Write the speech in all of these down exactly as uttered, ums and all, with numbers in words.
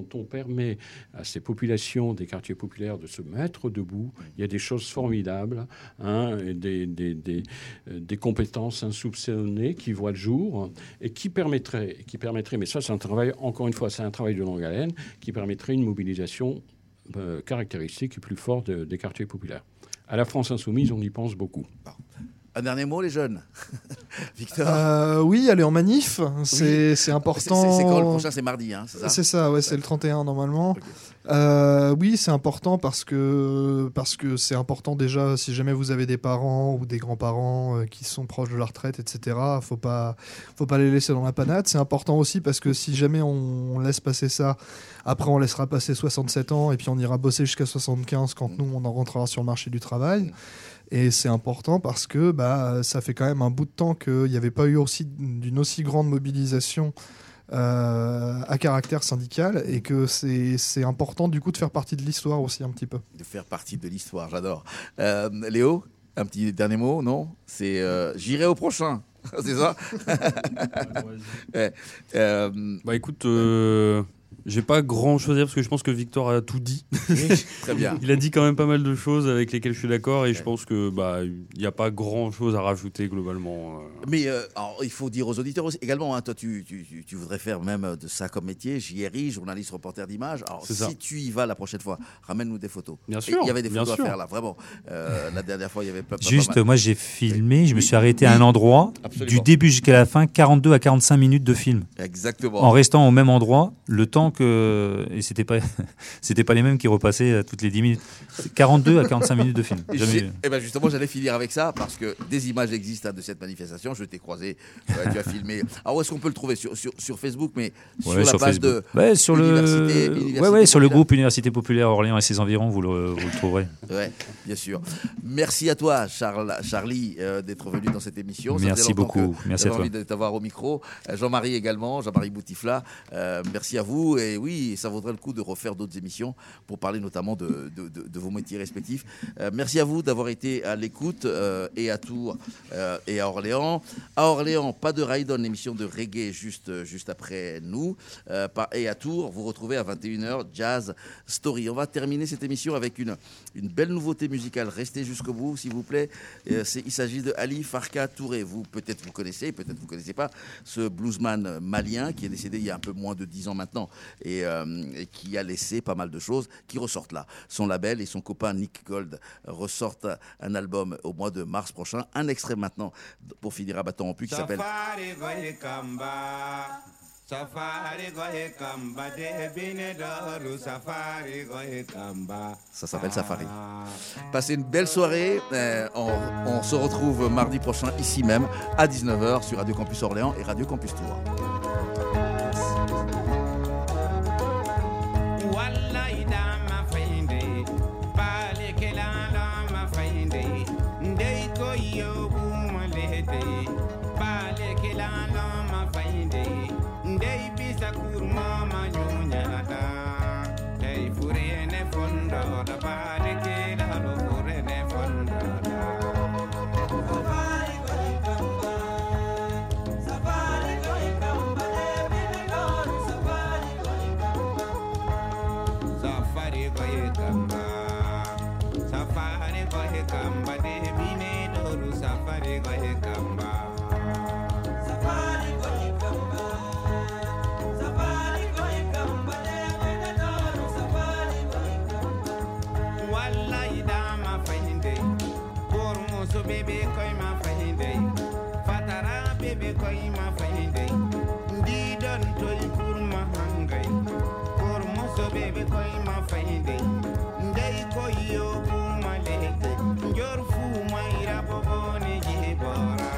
quand on permet à ces populations des quartiers populaires de se mettre debout, il y a des choses formidables, hein, et des, des, des, des compétences insoupçonnées qui voient le jour et qui permettraient, qui permettraient, mais ça c'est un travail, encore une fois, c'est un travail de longue haleine, qui permettrait une mobilisation euh, caractéristique et plus forte de, des quartiers populaires. À la France insoumise, on y pense beaucoup. Un dernier mot, les jeunes. Victor. Euh, oui, aller en manif, c'est, oui. c'est important. C'est, c'est, c'est quand le prochain, c'est mardi, hein, c'est ça ? C'est ça, ouais, c'est le trente et un normalement. Okay. Euh, oui, c'est important parce que, parce que c'est important déjà, si jamais vous avez des parents ou des grands-parents euh, qui sont proches de la retraite, et cetera, faut pas, faut pas les laisser dans la panade. C'est important aussi parce que si jamais on, on laisse passer ça, après on laissera passer soixante-sept ans et puis on ira bosser jusqu'à soixante-quinze quand mmh. nous, on en rentrera sur le marché du travail. Mmh. Et c'est important parce que bah, ça fait quand même un bout de temps qu'il n'y avait pas eu aussi, d'une aussi grande mobilisation euh, à caractère syndical et que c'est, c'est important du coup de faire partie de l'histoire aussi un petit peu. De faire partie de l'histoire, j'adore. Euh, Léo, un petit dernier mot, non ? C'est euh, j'irai au prochain, c'est ça ? ouais, euh, Bah écoute... Euh... J'ai pas grand chose à dire parce que je pense que Victor a tout dit. Oui, très bien. Il a dit quand même pas mal de choses avec lesquelles je suis d'accord et ouais. je pense que bah il y a pas grand chose à rajouter globalement. Mais euh, alors, il faut dire aux auditeurs aussi, également, hein, toi tu, tu, tu voudrais faire même de ça comme métier, J R I, journaliste reporter d'image. Alors c'est si ça. Tu y vas la prochaine fois, ramène-nous des photos. Bien sûr. Il y avait des photos à sûr. faire là, vraiment. Euh, la dernière fois il y avait pas. Juste, pas mal. moi j'ai filmé, je me suis arrêté oui. à un endroit Absolument. Du début jusqu'à la fin, quarante-deux à quarante-cinq minutes de film. Exactement. En restant au même endroit, le temps que et c'était pas c'était pas les mêmes qui repassaient toutes les dix minutes. C'est quarante-deux à quarante-cinq minutes de film. Jamais... Et ben justement, j'allais finir avec ça parce que des images existent hein, de cette manifestation. Je t'ai croisé, euh, tu as filmé. Alors où est-ce qu'on peut le trouver sur, sur, sur Facebook, mais sur ouais, la sur page Facebook. de ouais, sur Université, le Université ouais, ouais, sur le groupe Université Populaire Orléans et ses environs, vous le, vous le trouverez. Ouais, bien sûr. Merci à toi, Charles, Charlie, euh, d'être venu dans cette émission. Merci beaucoup. Merci à toi. Envie de t'avoir au micro. Euh, Jean-Marie également, Jean-Marie Boutifla. Euh, merci à vous. Et oui, ça vaudrait le coup de refaire d'autres émissions pour parler notamment de, de, de, de vos métiers respectifs. Euh, merci à vous d'avoir été à l'écoute euh, et à Tours euh, et à Orléans. À Orléans, pas de Raidon, l'émission de reggae juste, juste après nous. Euh, et à Tours, vous retrouvez à vingt et une heures Jazz Story. On va terminer cette émission avec une, une belle nouveauté musicale. Restez jusqu'au bout, s'il vous plaît. Euh, c'est, il s'agit de Ali Farka Touré. Vous, peut-être vous connaissez, peut-être vous ne connaissez pas ce bluesman malien qui est décédé il y a un peu moins de dix ans maintenant et, euh, et qui a laissé pas mal de choses qui ressortent là. Son label et son copain Nick Gold ressortent un album au mois de mars prochain. Un extrait maintenant pour finir à bâton rompu qui s'appelle Ça s'appelle Safari. Passez une belle soirée. Euh, on, on se retrouve mardi prochain ici même à dix-neuf heures sur Radio Campus Orléans et Radio Campus Tours. Baby,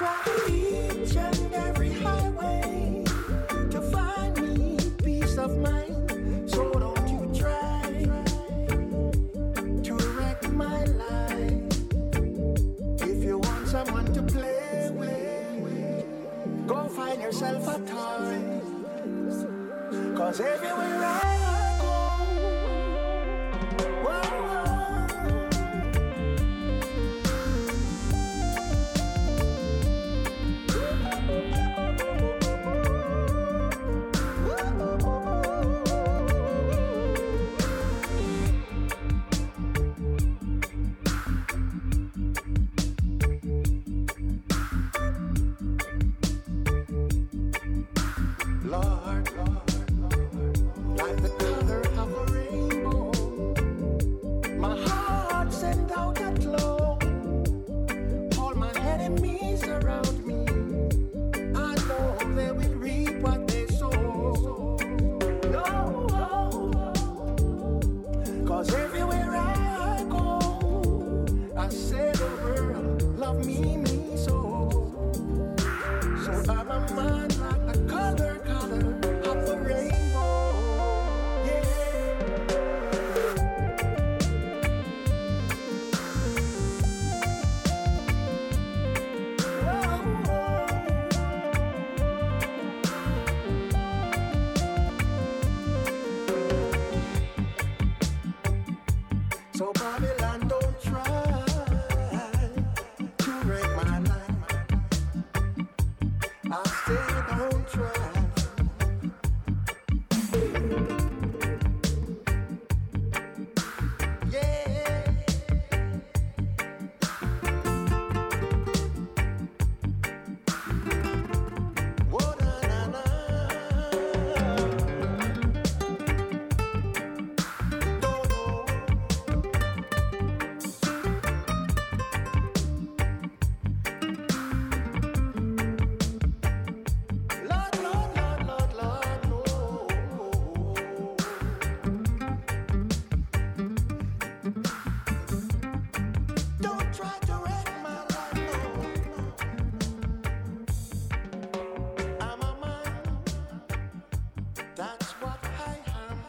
try each and every highway to find me peace of mind. So don't you try to wreck my life. If you want someone to play with, go find yourself a toy. Cause everywhere I go, whoa, Lord, Lord, Lord, like the color of a rainbow, my heart sent out a glow. All my enemies around me, I know they will reap what they sow. No, cause everywhere I go, I say the world love me, me so. So I'm a man like the color, color of the rainbow. Yeah. Whoa. So Babylon, don't try to wreck my life. I say don't try. Yeah. Whoa, na, na, na. Don't know. Lord, Lord, Lord, Lord, Lord, no. Don't try to wreck my life, no. I'm a man, that's what I am.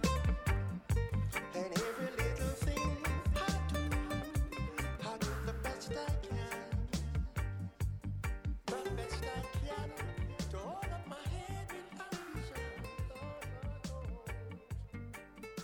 And every little thing I do, I do the best I can. The best I can to hold up my head with ambition. Lord, Lord, Lord.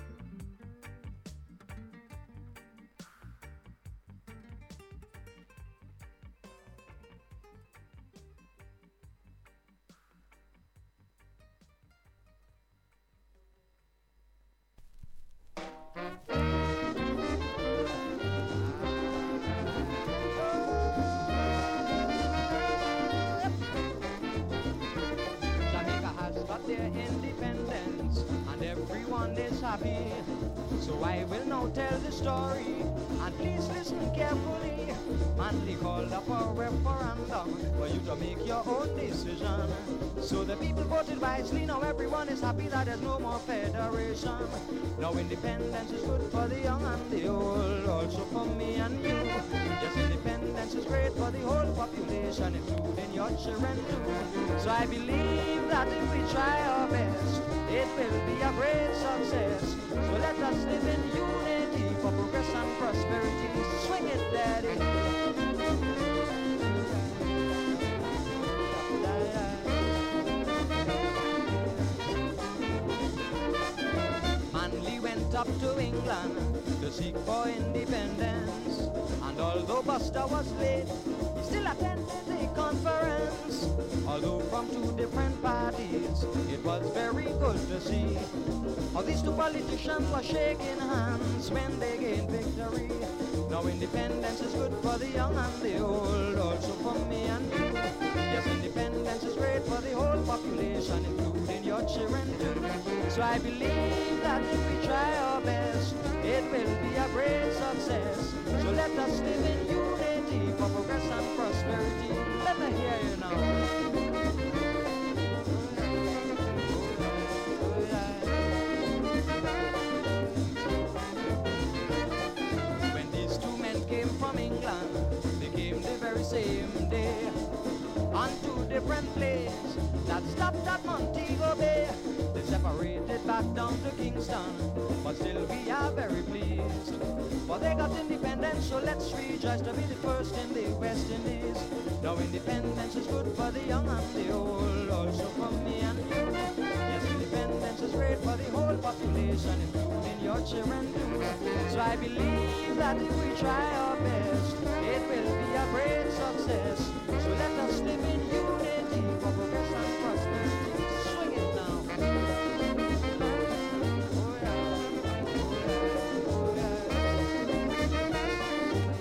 Jamaica has got their independence and everyone is happy. So I will now tell the story and please listen carefully. Man, they called up a referendum for you to make your own decision. So the people voted wisely, now everyone is happy that there's no more federation. Now independence is good for the young and the old, also for me and you. Yes, independence is great for the whole population, including your children too. So I believe that if we try our best, it will be a great success. So let us live in unity for progress and prosperity. Swing it, Daddy. Manly went up to England to seek for independence, and although Buster was late, he still attended the conference. Although from two different parties, it was very good to see how these two politicians were shaking hands when they gained victory. Now independence is good for the young and the old, also for me and you. Yes, independence is great for the whole population, including your children too. So I believe that if we try our best, it will be a great success. So let us live in unity for progress and prosperity. Let me hear you now. When these two men came from England, they came the very same day. different place that stopped at Montego Bay. They separated back down to Kingston, but still we are very pleased. For they got independence, so let's rejoice to be the first in the West Indies. Now independence is good for the young and the old, also for me and you. Yes, independence is great for the whole population, including your children too. So I believe that if we try our best, it will be a great success. So let us live in unity for progress and prosperity. Swing it now. Oh yeah, oh yeah, oh yeah.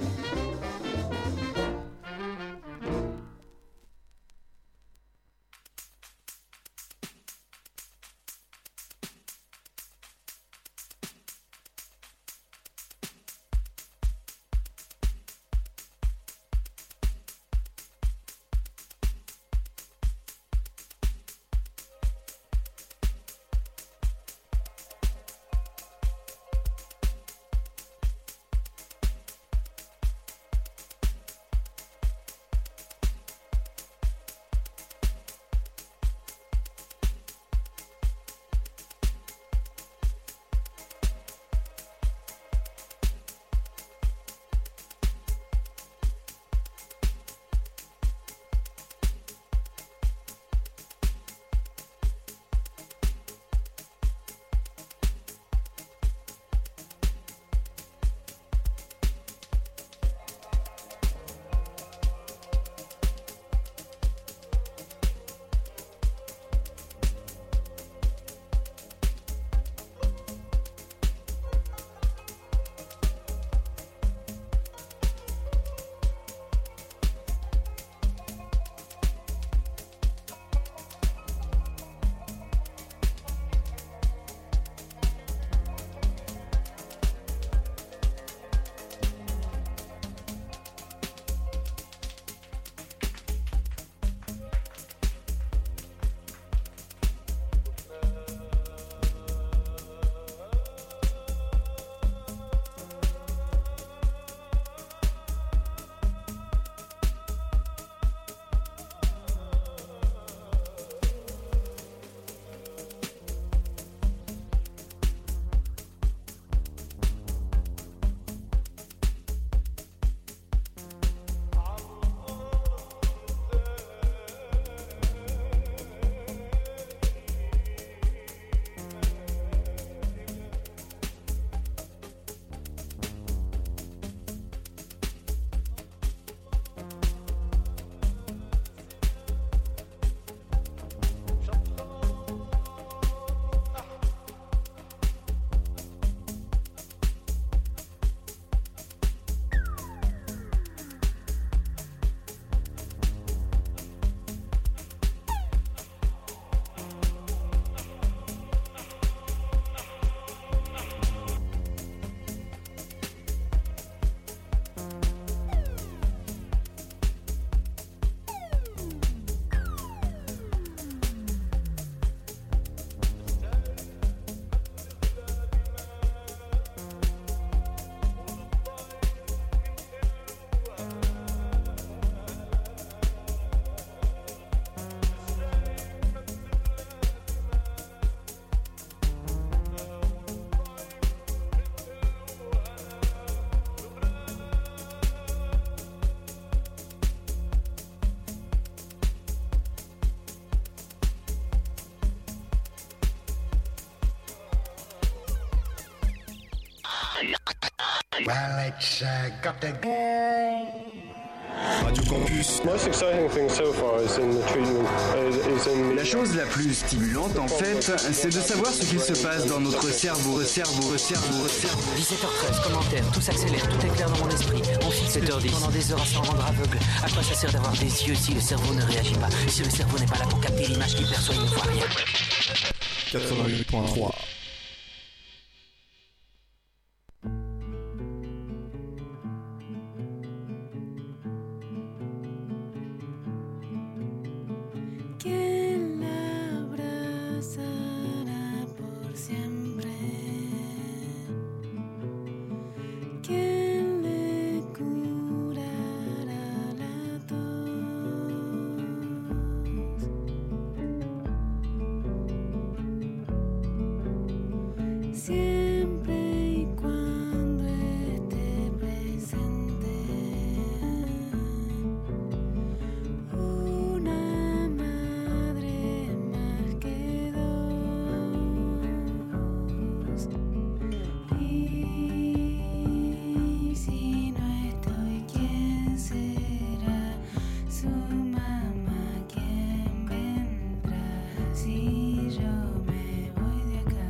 Well, it's uh, got to Radio Campus. Most exciting thing so far is in the treatment. Is in the... La chose la plus stimulante, en fait, c'est de savoir ce qu'il se passe dans notre cerveau, cerveau, cerveau, cerveau. dix-sept heures treize, commentaire, tout s'accélère, tout est clair dans mon esprit. On fixe sept heures dix pendant des heures à s'en rendre aveugle. À quoi ça sert d'avoir des yeux si le cerveau ne réagit pas, si le cerveau n'est pas là pour capter l'image qu'il perçoit, il ne voit rien. quatre-vingt-huit point trois. siempre y cuando esté presente. Una madre más que dos. Y si no estoy, ¿quién será? Su mamá, ¿quién vendrá? Si yo me voy de acá.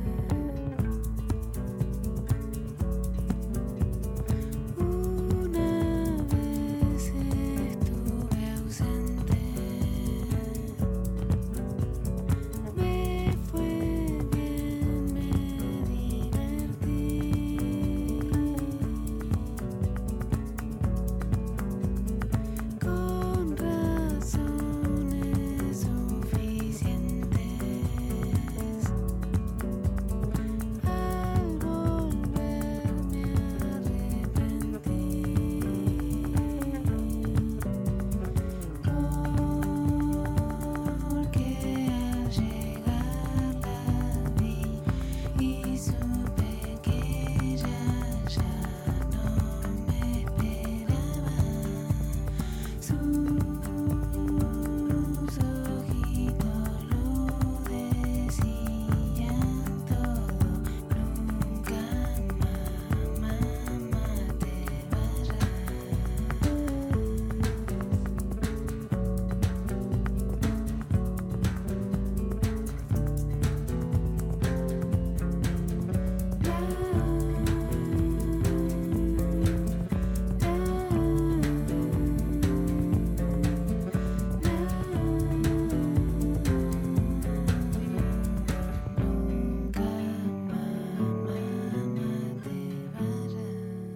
Una vez estuve ausente. Me fue bien, me divertí. Con razones suficientes. Al volverme arrepentí. Porque al llegar la vi y supe que ella ya no me esperaba. Sus ojitos lo decían todo. Nunca más, mamá, te vayas. Nunca más, mamá, te vayas.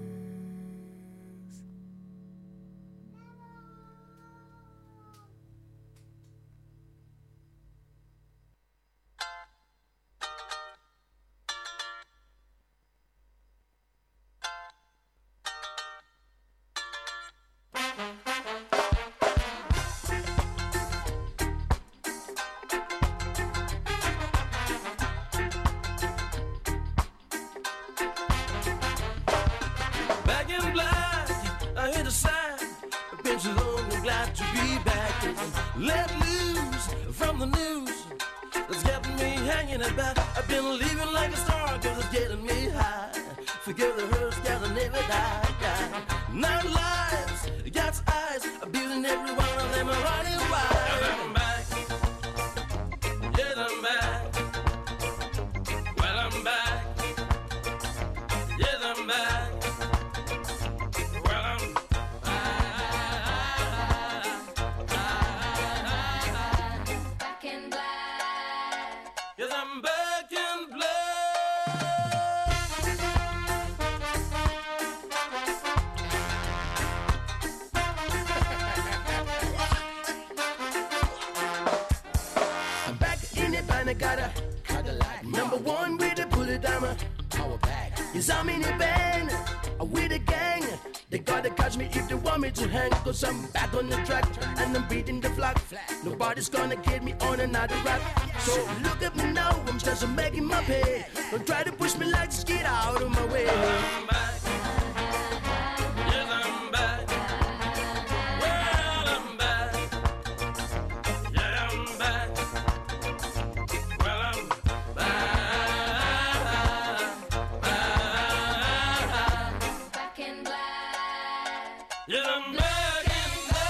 Back in black, I hear the sign. Been so long, I'm glad to be back. Let loose from the news that's getting me hanging about. I've been living like a star, cause it's getting me high. Forget the hearse, gotta never die. die. Nine lives, God's eyes, I'm building every one of them running wide. Yes, I'm back. Yes, I'm back. Well, I'm back. Yes, I'm back. Well, I'm Back in black. yes, I'm back in black. I'm back in it, and I got a Cadillac. Number one with the bullet diamond. Power back. Yes, I'm in a band uh, with a gang. They gotta catch me if they want me to hang. Cause I'm back on the track and I'm beating the flag. Nobody's gonna get me on another rap. So look at me now, I'm just making my pay. Don't try to push me like just get out of my way. I'm back. Yes, I'm back. Well, I'm back. Yeah, I'm back. Well, I'm Back in black. yes, I'm back in black.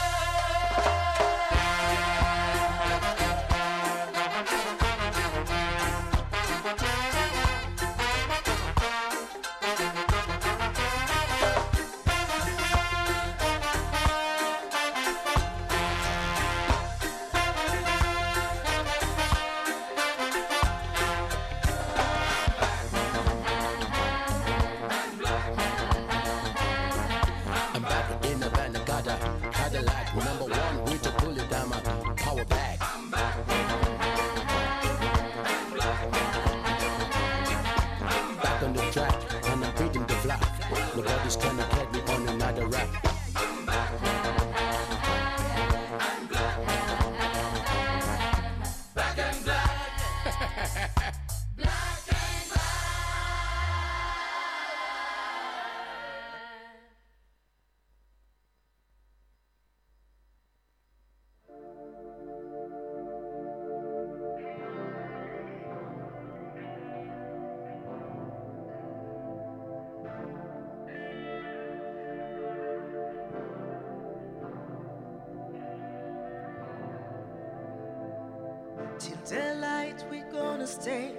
Till daylight we're gonna stay.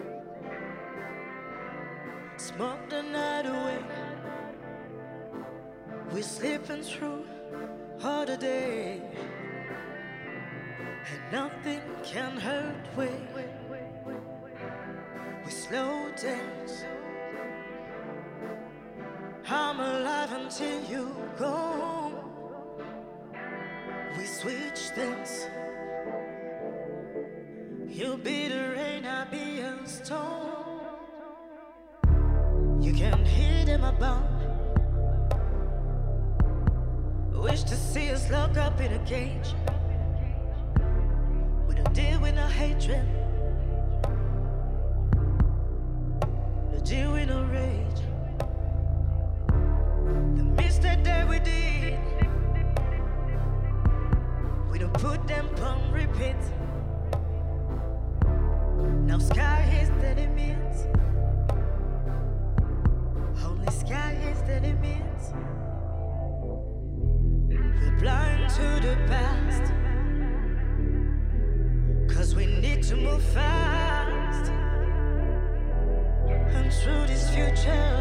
Smoke the night away. We're sleeping through all the day, and nothing can hurt we. We slow dance. I'm alive until you go. We switch things. You'll be the rain, I'll be a storm. You can hear them about. Wish to see us locked up in a cage. We don't deal with no hatred. No deal with no rage. The mistake that we did, we don't put them on repeat. Now sky is the limit. Only sky is the limit. We're blind to the past, 'cause we need to move fast. And through this future,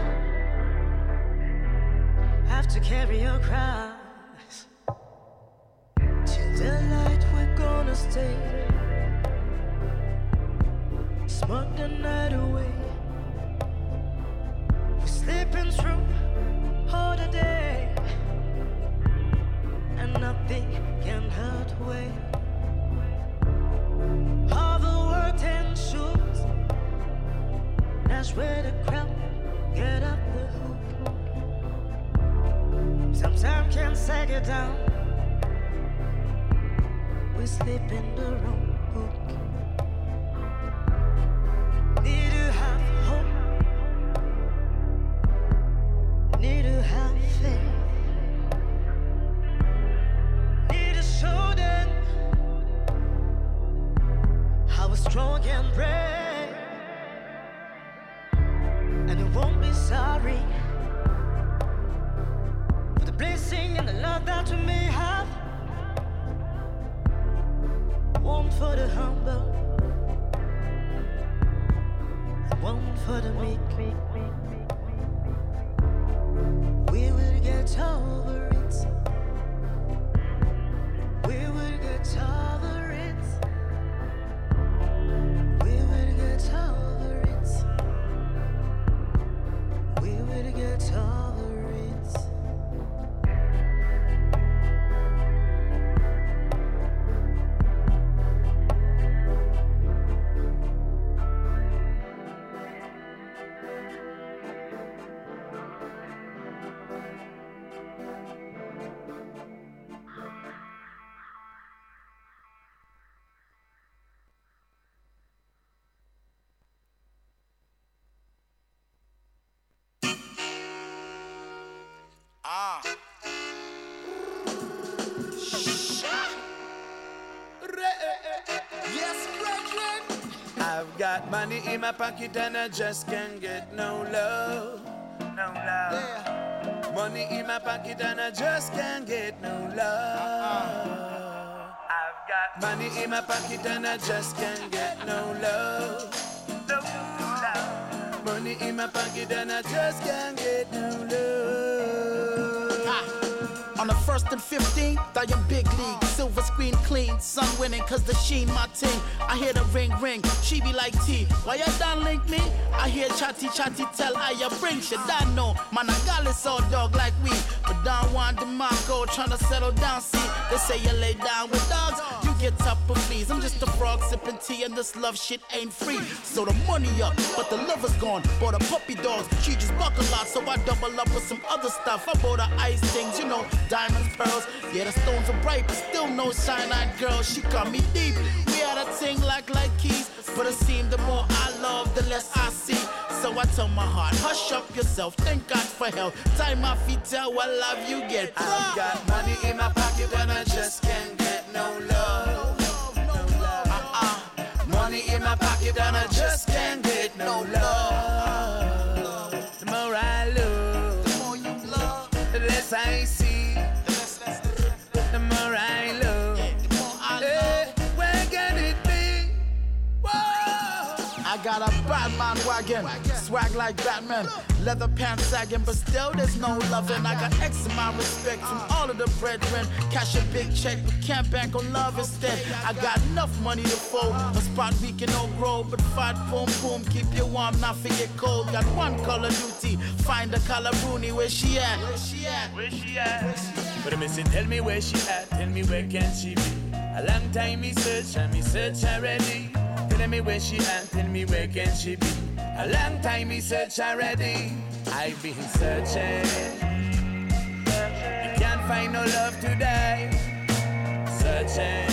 have to carry your cross. Till the light we're gonna stay. Smoke the night away. We're sleeping through all the day, and nothing can hurt we. All the work and shoes, that's where the crowd get up the hook. Sometimes can't sag it down. We sleep in the wrong book. Need to have hope. Need to have faith. Need to show them how we're strong and brave, and you won't be sorry for the blessing and the love that you may have. One for the humble, and one for the meek. We will get over it. We will get over it. We will get over it. We will get over it. Ah. Yes, brethren. I've got money in my pocket and I just can't get no love. No love. Yeah. Money in my pocket and I just can't get no love. I've got money in my pocket and I just can't get no love. No love. Money in my pocket and I just can't get no love. Ah. On the first and fifteenth, I am big league. Silver screen clean, sun winning, cause the sheen my team. I hear the ring ring, she be like T. Why you done link me? I hear chatty chatty tell I ya bring shit. I know, man, I got this all dog like we. But Don Juan DeMarco tryna settle down, see. They say you lay down with dogs, you get up and please. I'm just a frog sipping tea and this love shit ain't free. So the money up, but the lover's gone. Bought a puppy dogs, she just buck a lot, so I double up with some other stuff. I bought her ice things, you know, diamonds, pearls. Yeah, the stones are bright, but still no shine-eyed girl. She cut me deep. We had a thing like like keys, but it seemed the more I love, the less I see. So I tell my heart, hush up yourself, thank God for help. Time my feet tell what love you get. I've got money in my pocket and I just can't get no love. No love. Uh-uh. Money in my pocket and I just can't get no love. The more I love, the more you love, the less I see. The more I love, the more I love. Hey, where can it be? got a Batman wagon, swag like Batman. Leather pants sagging, but still there's no loving. I got X amount respect from all of the brethren. Cash a big check, but can't bank on love instead. I got enough money to fold, a spot we can all grow. But fat boom boom, keep you warm, not forget cold. Got one color duty, find the color Rooney, where she at? Where she at? Where she at? But I say, tell me where she at, tell me where can she be? A long time me search and me search already. Tell me where she at, tell me where can she be? A long time me search already. I've been searching. You can't find no love today. Searching.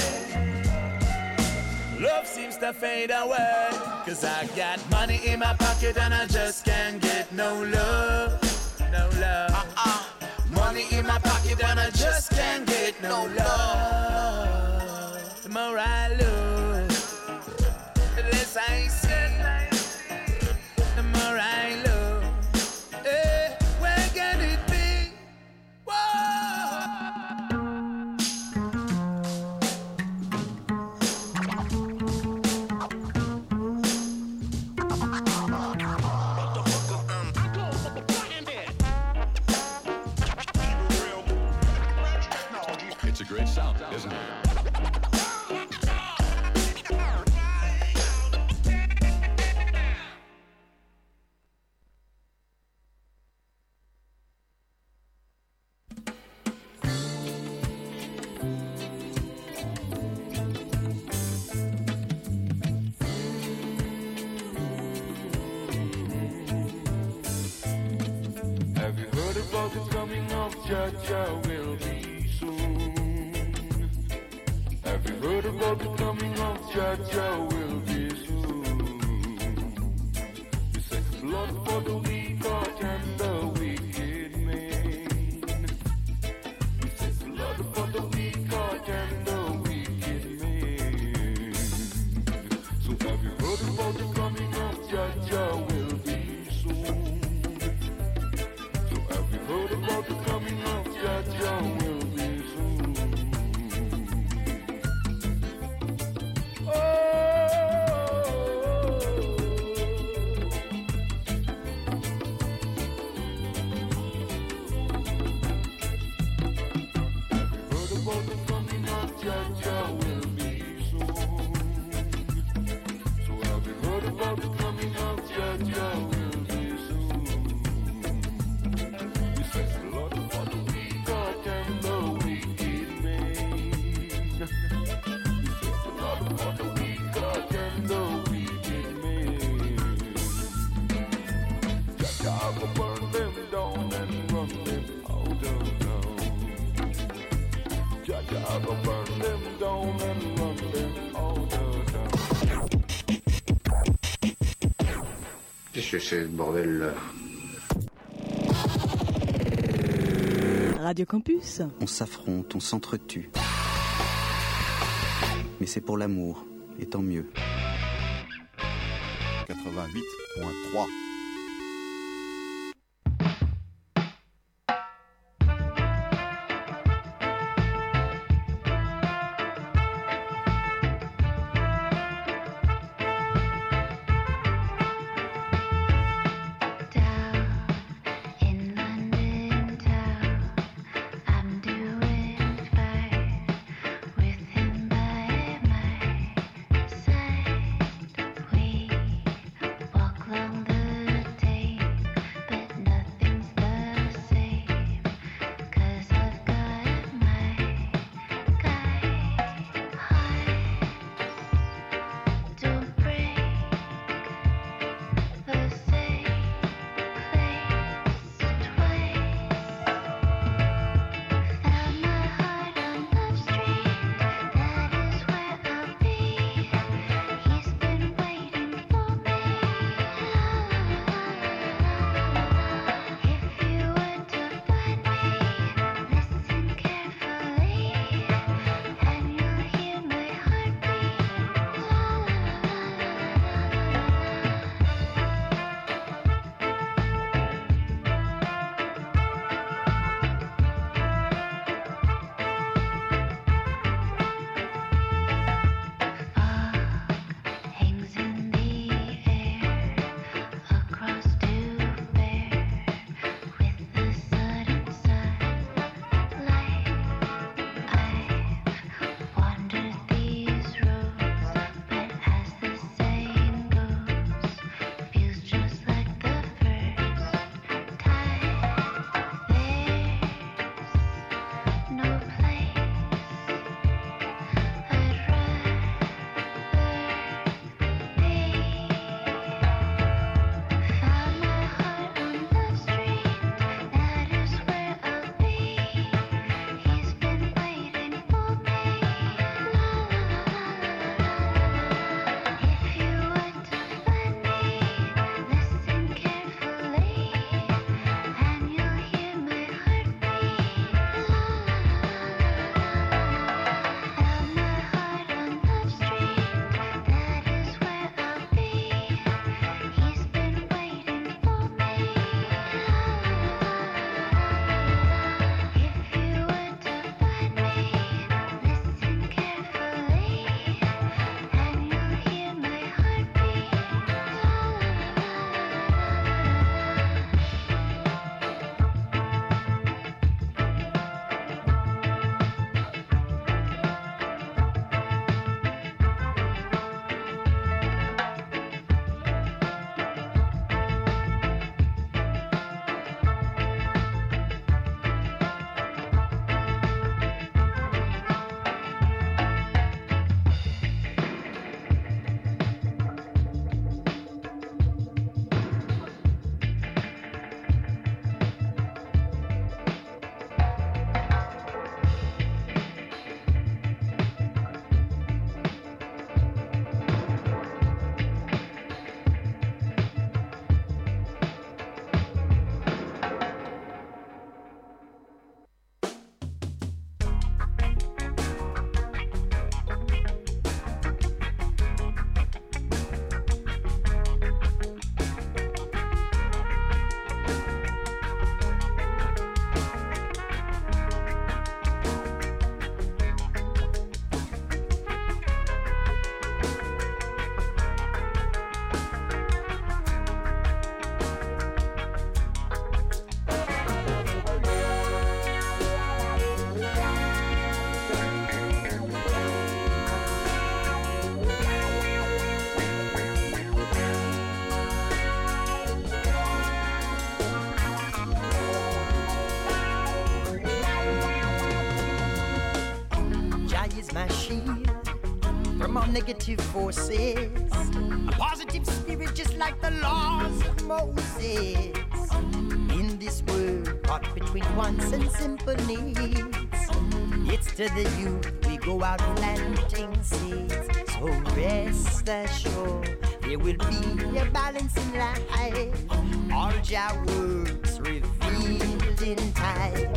Love seems to fade away. Cause I got money in my pocket and I just can't get no love. No love. Uh-uh. Money in my pocket and I just can't get no love. The more I lose, the less I see. The more I love, eh, where can it be? It's a great sound, isn't it? Have you heard about the coming of Jaja will be soon? Have you heard about the coming of Jaja will be soon? We set blood for the weak heart and the wicked man. We set blood for the weak heart and the wicked man. So have you heard about the coming of Jaja will be soon? Heard about the coming of Jaja will be soon. Oh, heard about the coming of Jaja will be soon. So have you heard about the coming of Jaja will be soon? Blood for the weak heart and the wicked man. Blood for the weak heart and the wicked man. Jaja go burn them down and run them out of town. Jaja go burn them down and run them out of town. Qu'est-ce que c'est ce bordel là? Radio Campus. On s'affronte, on s'entretue. Mais c'est pour l'amour, et tant mieux. quatre-vingt-huit point trois. Walk along the from all negative forces. A positive spirit just like the laws of Moses. In this world, caught between wants and simple needs. It's to the youth we go out planting seeds. So rest assured, there will be a balance in life. All Jah works revealed in time.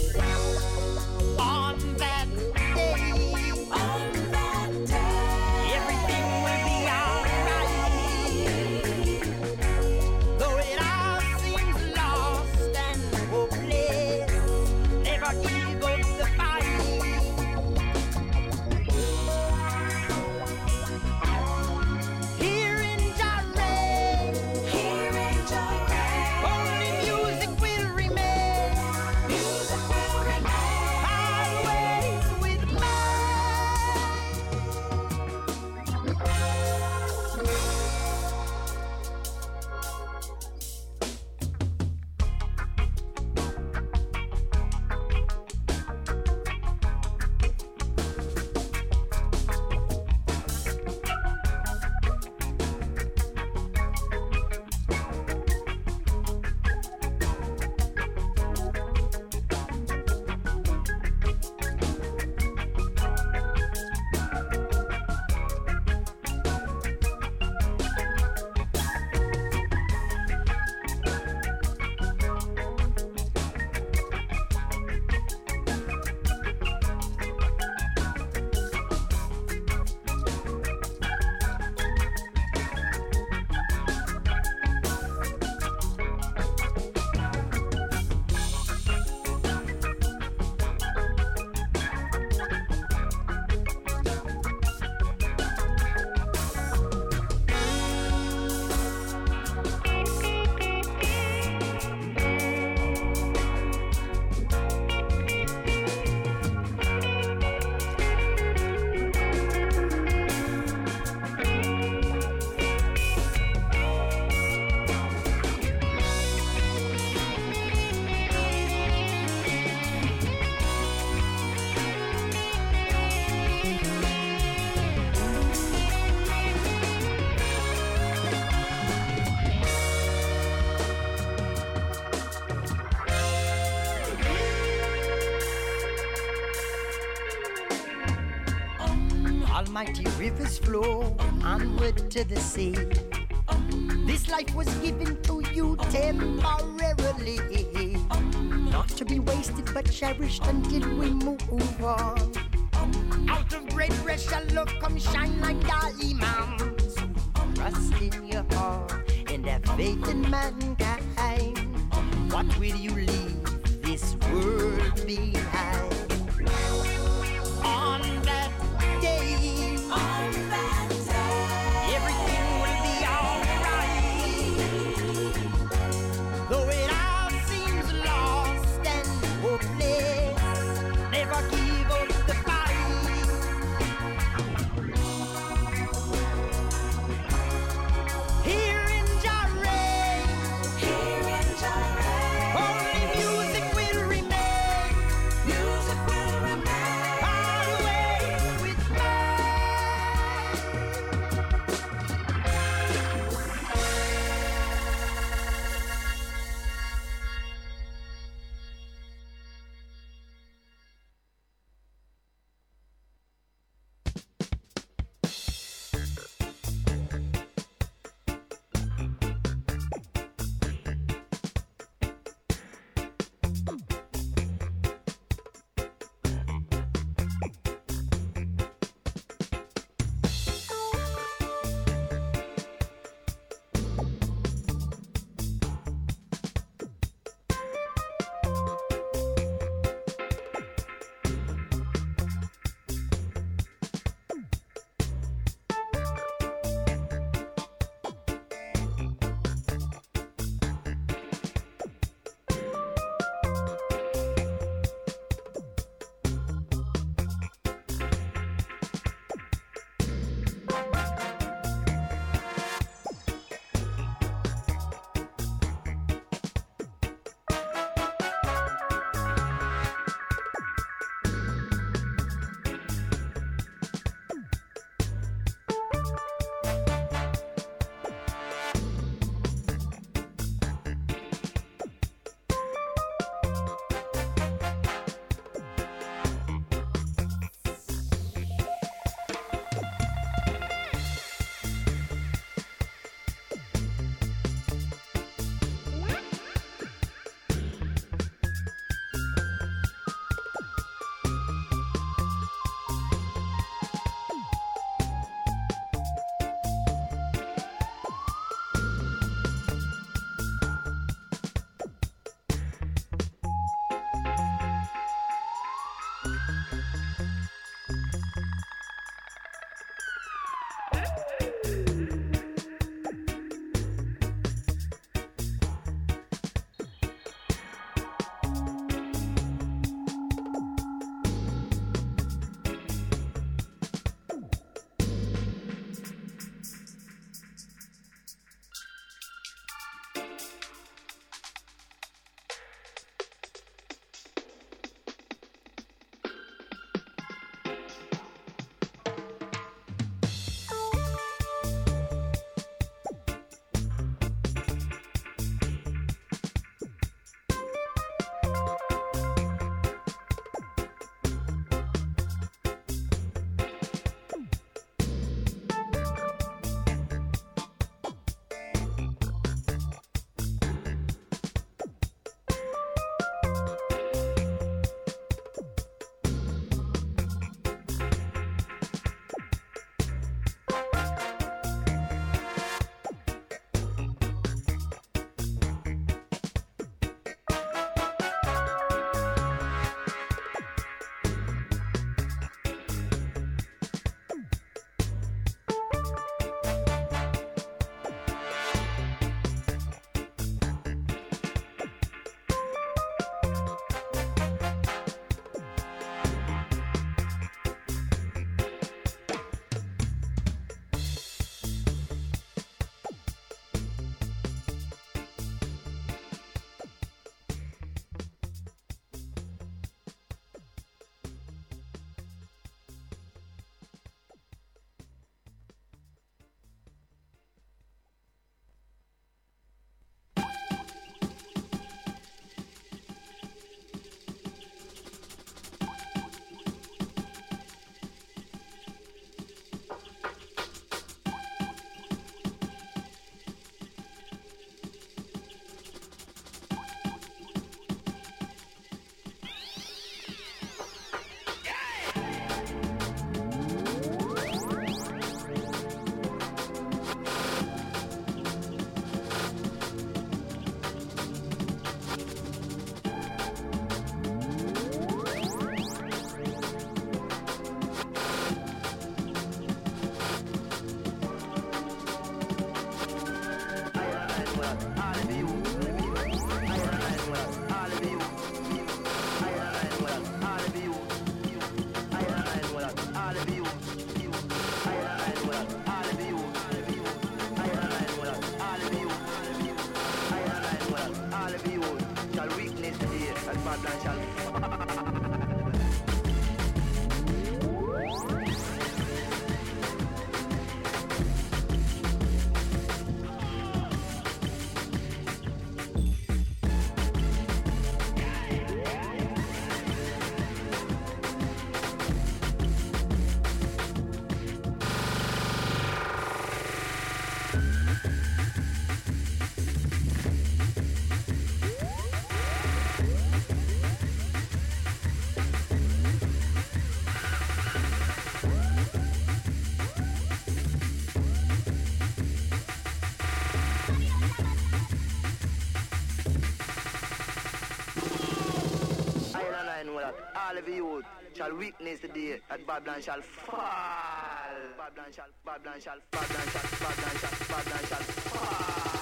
On that day, on that day, everything will be alright. Though it all seems lost and hopeless, never give up the fight. Here in Jah reign, here in Jah reign, only music will remain. Music will remain always with Almighty rivers flow onward to the sea. This life was given to you temporarily, not to be wasted but cherished until we move on. Out of great pressure, love come shine like diamonds. Trust in your heart and have faith in mankind. What will you leave this world behind? On that day, on that day, everything will be alright. Though it all seems lost and hopeless, never give up the fight. Here in Jah reign, here in Jah reign, only music will remain. Music All of you shall witness the day that Babylon shall fall. Babylon shall, Babylon shall, Babylon shall, Babylon shall, Babylon shall fall.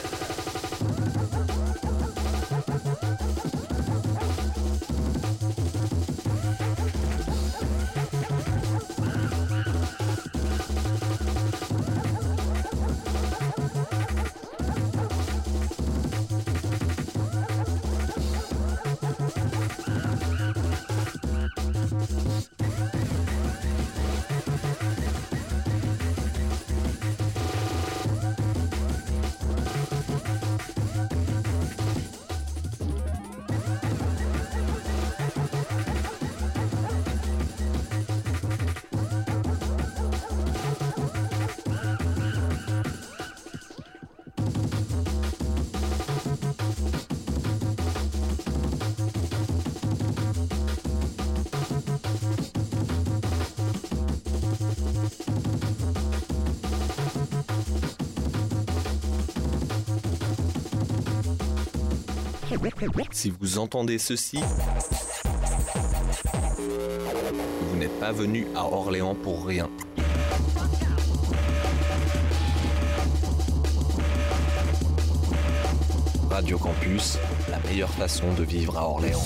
Si vous entendez ceci, vous n'êtes pas venu à Orléans pour rien. Radio Campus, la meilleure façon de vivre à Orléans.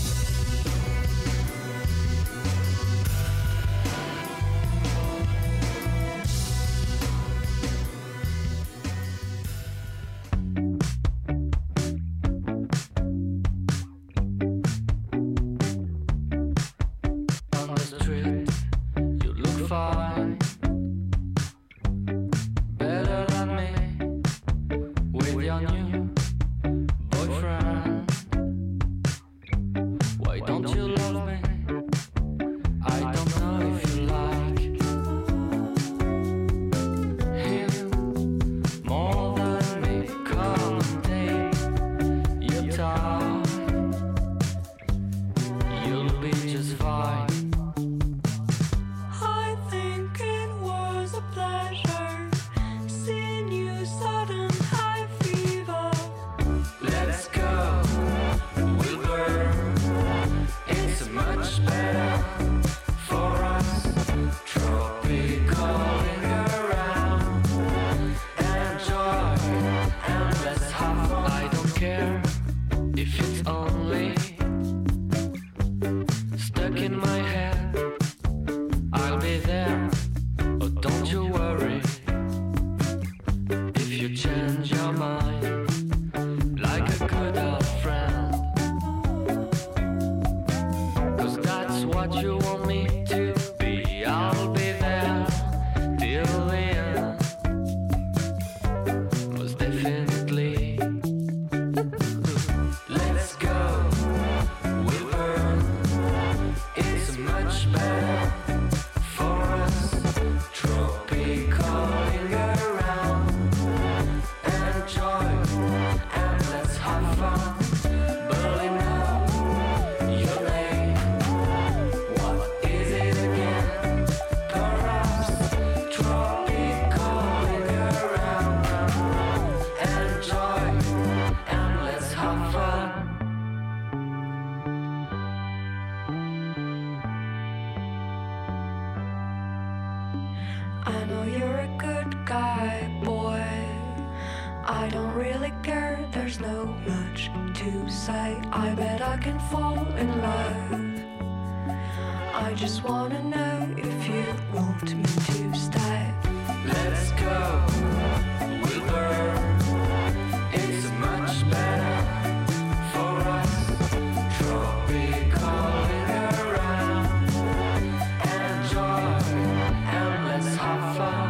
I know you're a good guy, boy. I don't really care there's no much to say. I bet I can fall in love. I just wanna know if you want me to stay. Let's go, we'll burn. It's much better for us. Tropicalling around. Enjoy and let's have fun.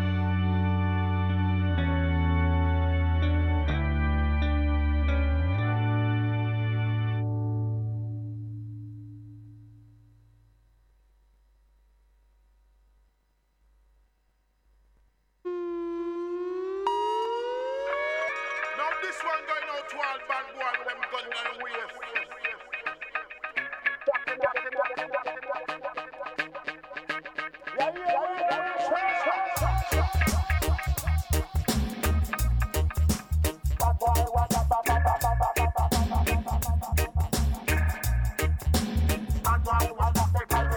Now this one going out to all bad boy with them gun in the waist. Yeah, yeah, bad boy, what up, bad boy, bad boy, bad boy, what up, bad boy,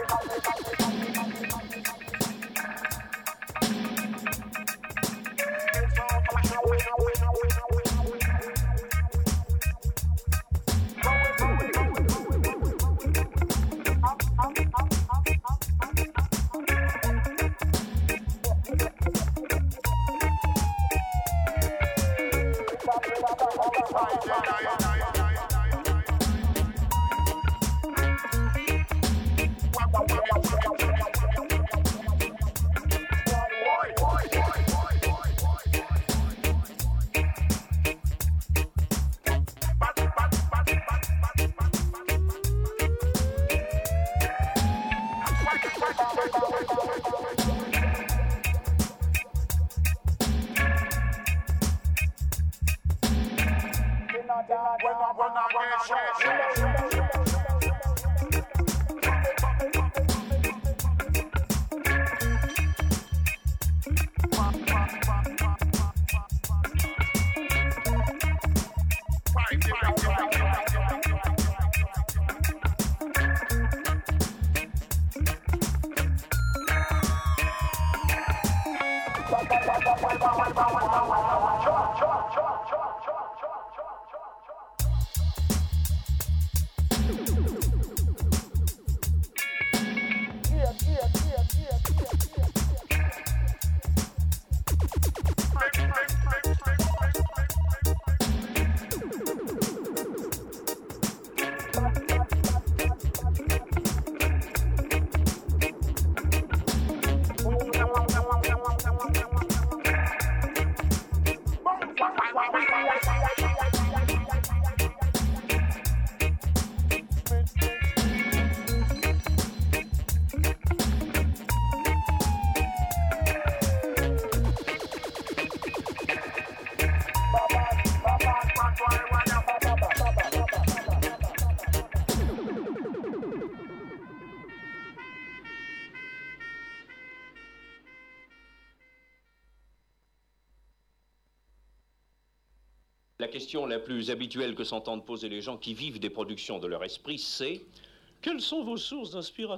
La question la plus habituelle que s'entendent poser les gens qui vivent des productions de leur esprit, c'est « Quelles sont vos sources d'inspiration ?»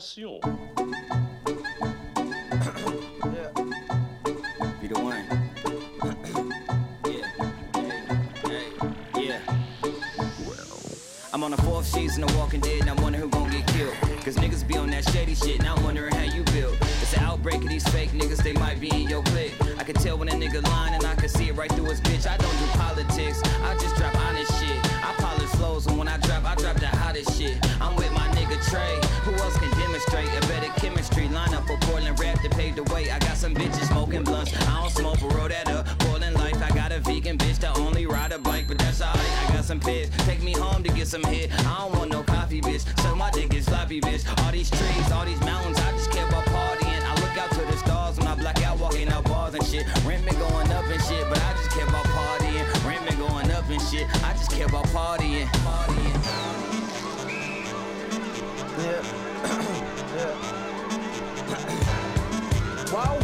Be the one. Yeah. Hey. Hey. Yeah. I'm on the fourth season of Walking Dead and I'm wondering who gon' get killed. Cause niggas be on that shady shit and I'm wondering how you build. It's an outbreak of these fake niggas, they might be in your clique. I can tell when a nigga lying and I can see it right through his bitch. I don't do politics, I just drop honest shit. I polish flows and when I drop, I drop the hottest shit. I'm with my nigga Trey, who else can demonstrate a better chemistry? Line up for Portland rap to pave the way. I got some bitches smoking blunts, I don't smoke but roll that up. Portland life, I got a vegan bitch that only ride a bike, but that's alright. I got some pets, take me home to get some hit. I don't want no coffee, bitch, so my dick is sloppy, bitch. All these trees, all these mountains, I just care about partying. I look out to the stars when I black out, walking out bars and shit. Rent been going up and shit, but I just care about partying. Rent been going up and shit, I just care about partying. Partying. Yeah. Yeah. Wow.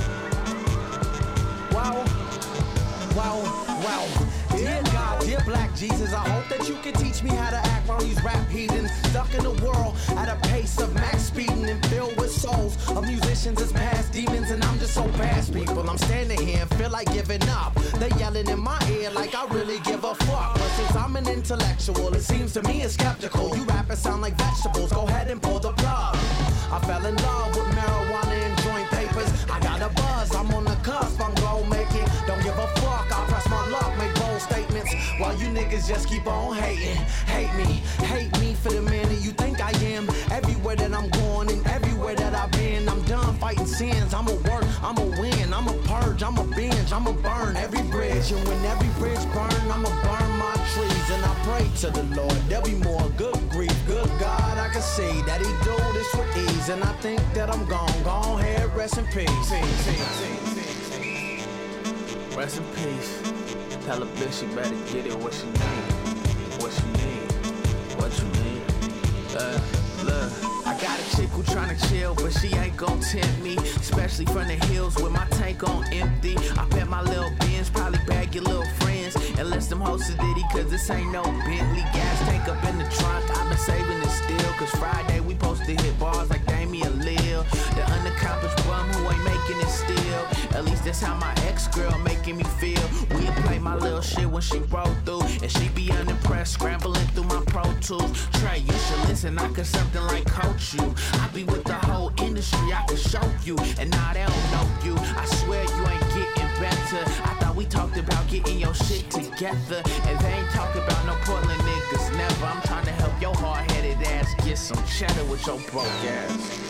Wow. Wow. Wow. Dear God, dear Black Jesus, I hope that you can teach me how to act while these rap heathens stuck in the world at a pace of max speeding and filled with souls of musicians as past demons, and I'm just so past people. I'm standing here and feel like giving up. They yelling in my ear like I really give a fuck. But since I'm an intellectual, it seems to me it's skeptical. You rappers sound like vegetables, go ahead and pull the plug. I fell in love with marijuana and joint papers. I got a buzz, I'm on the cusp, I'm gon' make it. Don't give a fuck, I press my luck, make bold statements. While you niggas just keep on hating. Hate me, hate me for the man that you think I am. Everywhere that I'm going and everywhere that I've been, I'm done fighting sins. I'ma work, I'ma win, I'ma purge, I'ma binge, I'ma burn every bridge. And when every bridge burn, I'ma burn my trees. And I pray to the Lord, there'll be more good grief. Good God, I can see that he do this with ease. And I think that I'm gone, gone ahead, rest in peace. Rest in peace. Tell a bitch she better get it what she need. What she need. What you need. Uh, look. I got a chick who tryna chill, but she ain't gon' tempt me. Especially from the hills with my tank on empty. I bet my little Benz probably bag your little friends. Unless them hoes are Diddy, cause this ain't no Bentley. Gas tank up in the trunk, I've been saving it still. Cause Friday we supposed to hit bars like Damian Lil. The unaccomplished bum who ain't making it still. At least that's how my ex-girl making me feel. We play my little shit when she roll through. And she be unimpressed, scrambling through my Pro Tools. Trey, you should listen, I could something like coach you. I be with the whole industry, I could show you. And now they don't know you, I swear you ain't getting better. I thought we talked about getting your shit together. And they ain't talking about no Portland niggas, never. I'm trying to help your hard-headed ass get some cheddar with your broke ass.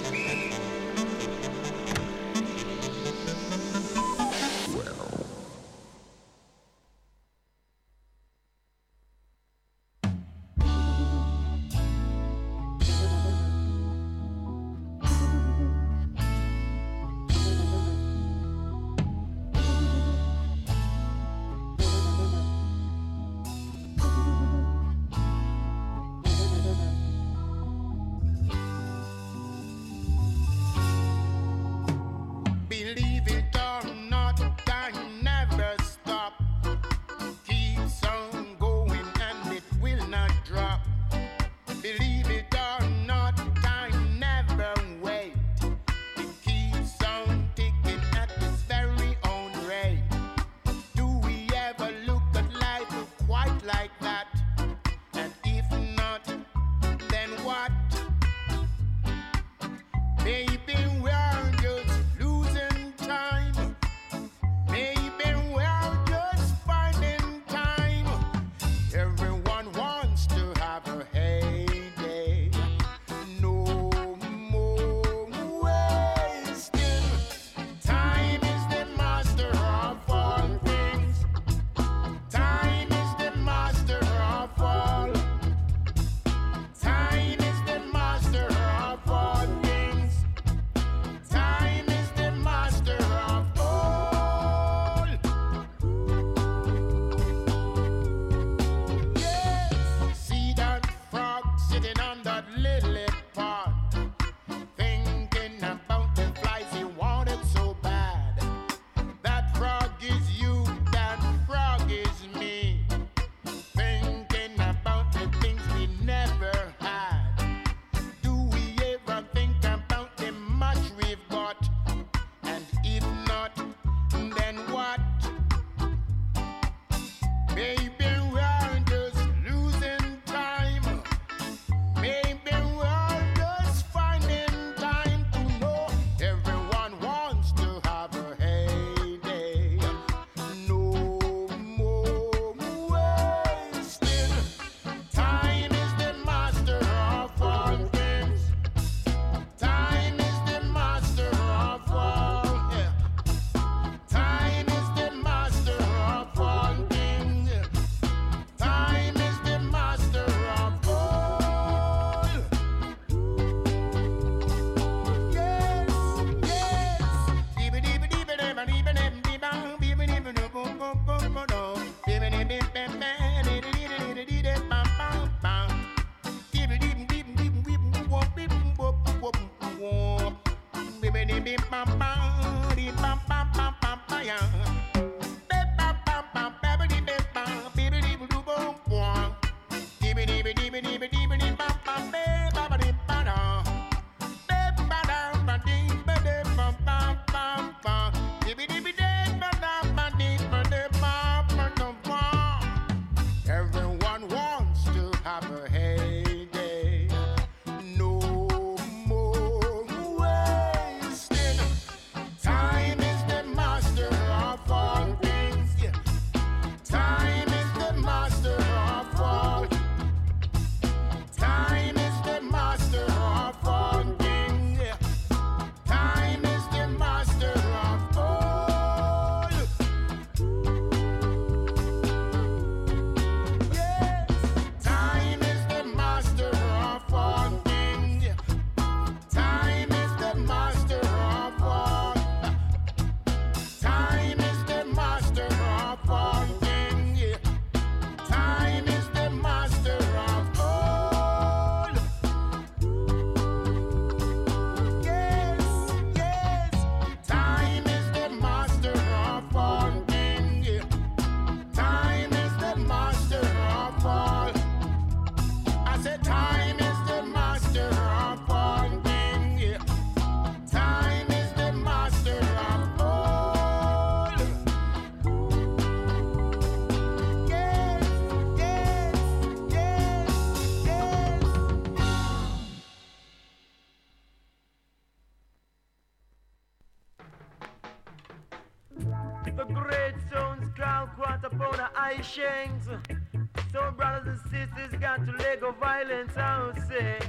Redstones, crown, quarter pound of ice shanks. So brothers and sisters got to let go violence, I would say.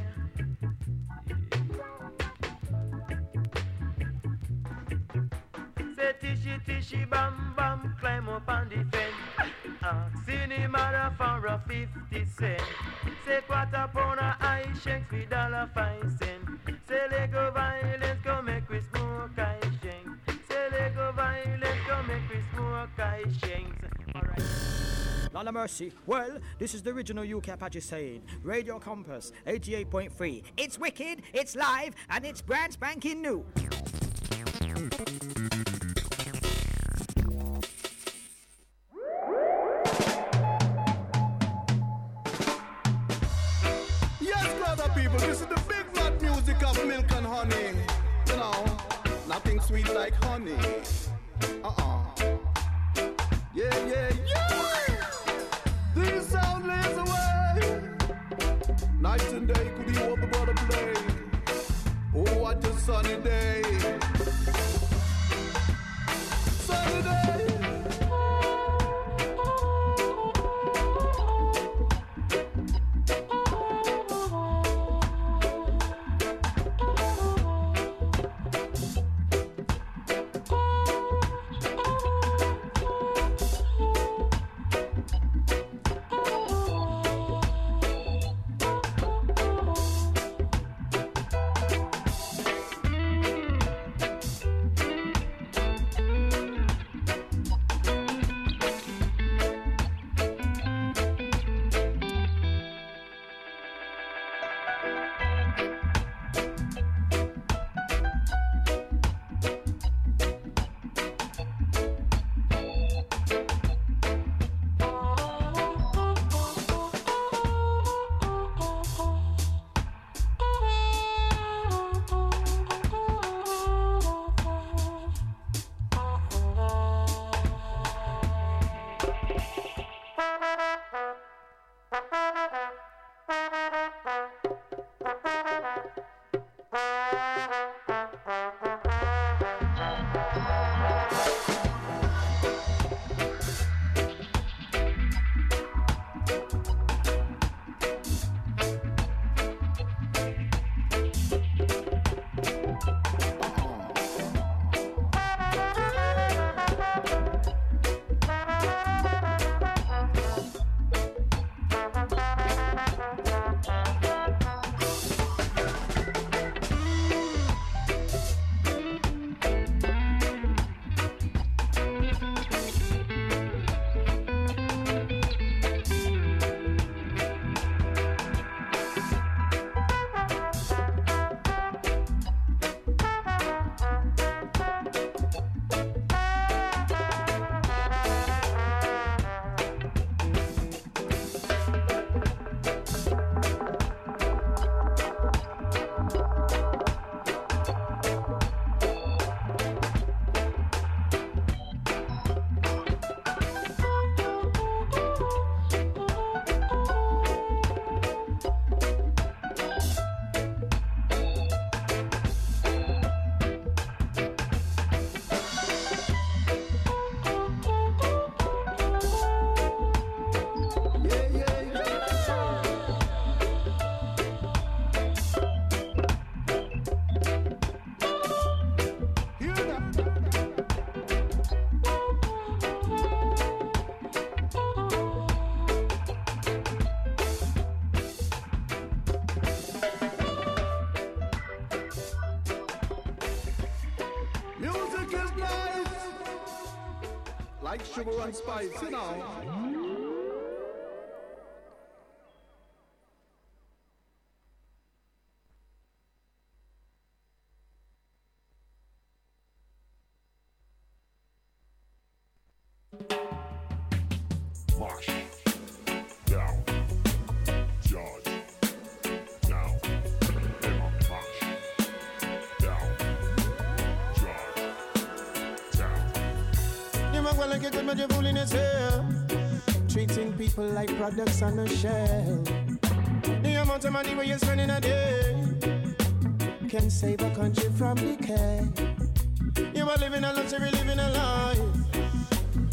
Say tishy tishy bam bam, climb up on the fence. Ask cinema for a fifty cent. Say quarter pound of ice shanks with dollar five cent. Say let go violence, go make we smoke ice shanks. Say let go violence, go make we smoke ice shanks. Alright. Lord of mercy. Well, this is the original U K Apache saying, Radio Compass, eighty-eight point three. It's wicked, it's live, and it's brand spanking new. Yes, brother people, this is the big fat music of milk and honey. You know, nothing sweet like honey. Uh-uh. Yeah, yeah, yeah! These sound lays away. Night and day, could you what the brother play? Oh, what a sunny day. Sunny day. like sugar and spice, you know. Marsh, down, George, down, Emma, marsh, down, George, down. You might well like it good, but you're fooling yourself. Treating people like products on a shelf. The amount of money where you're spending a day can save a country from decay. You are living a luxury, living a life.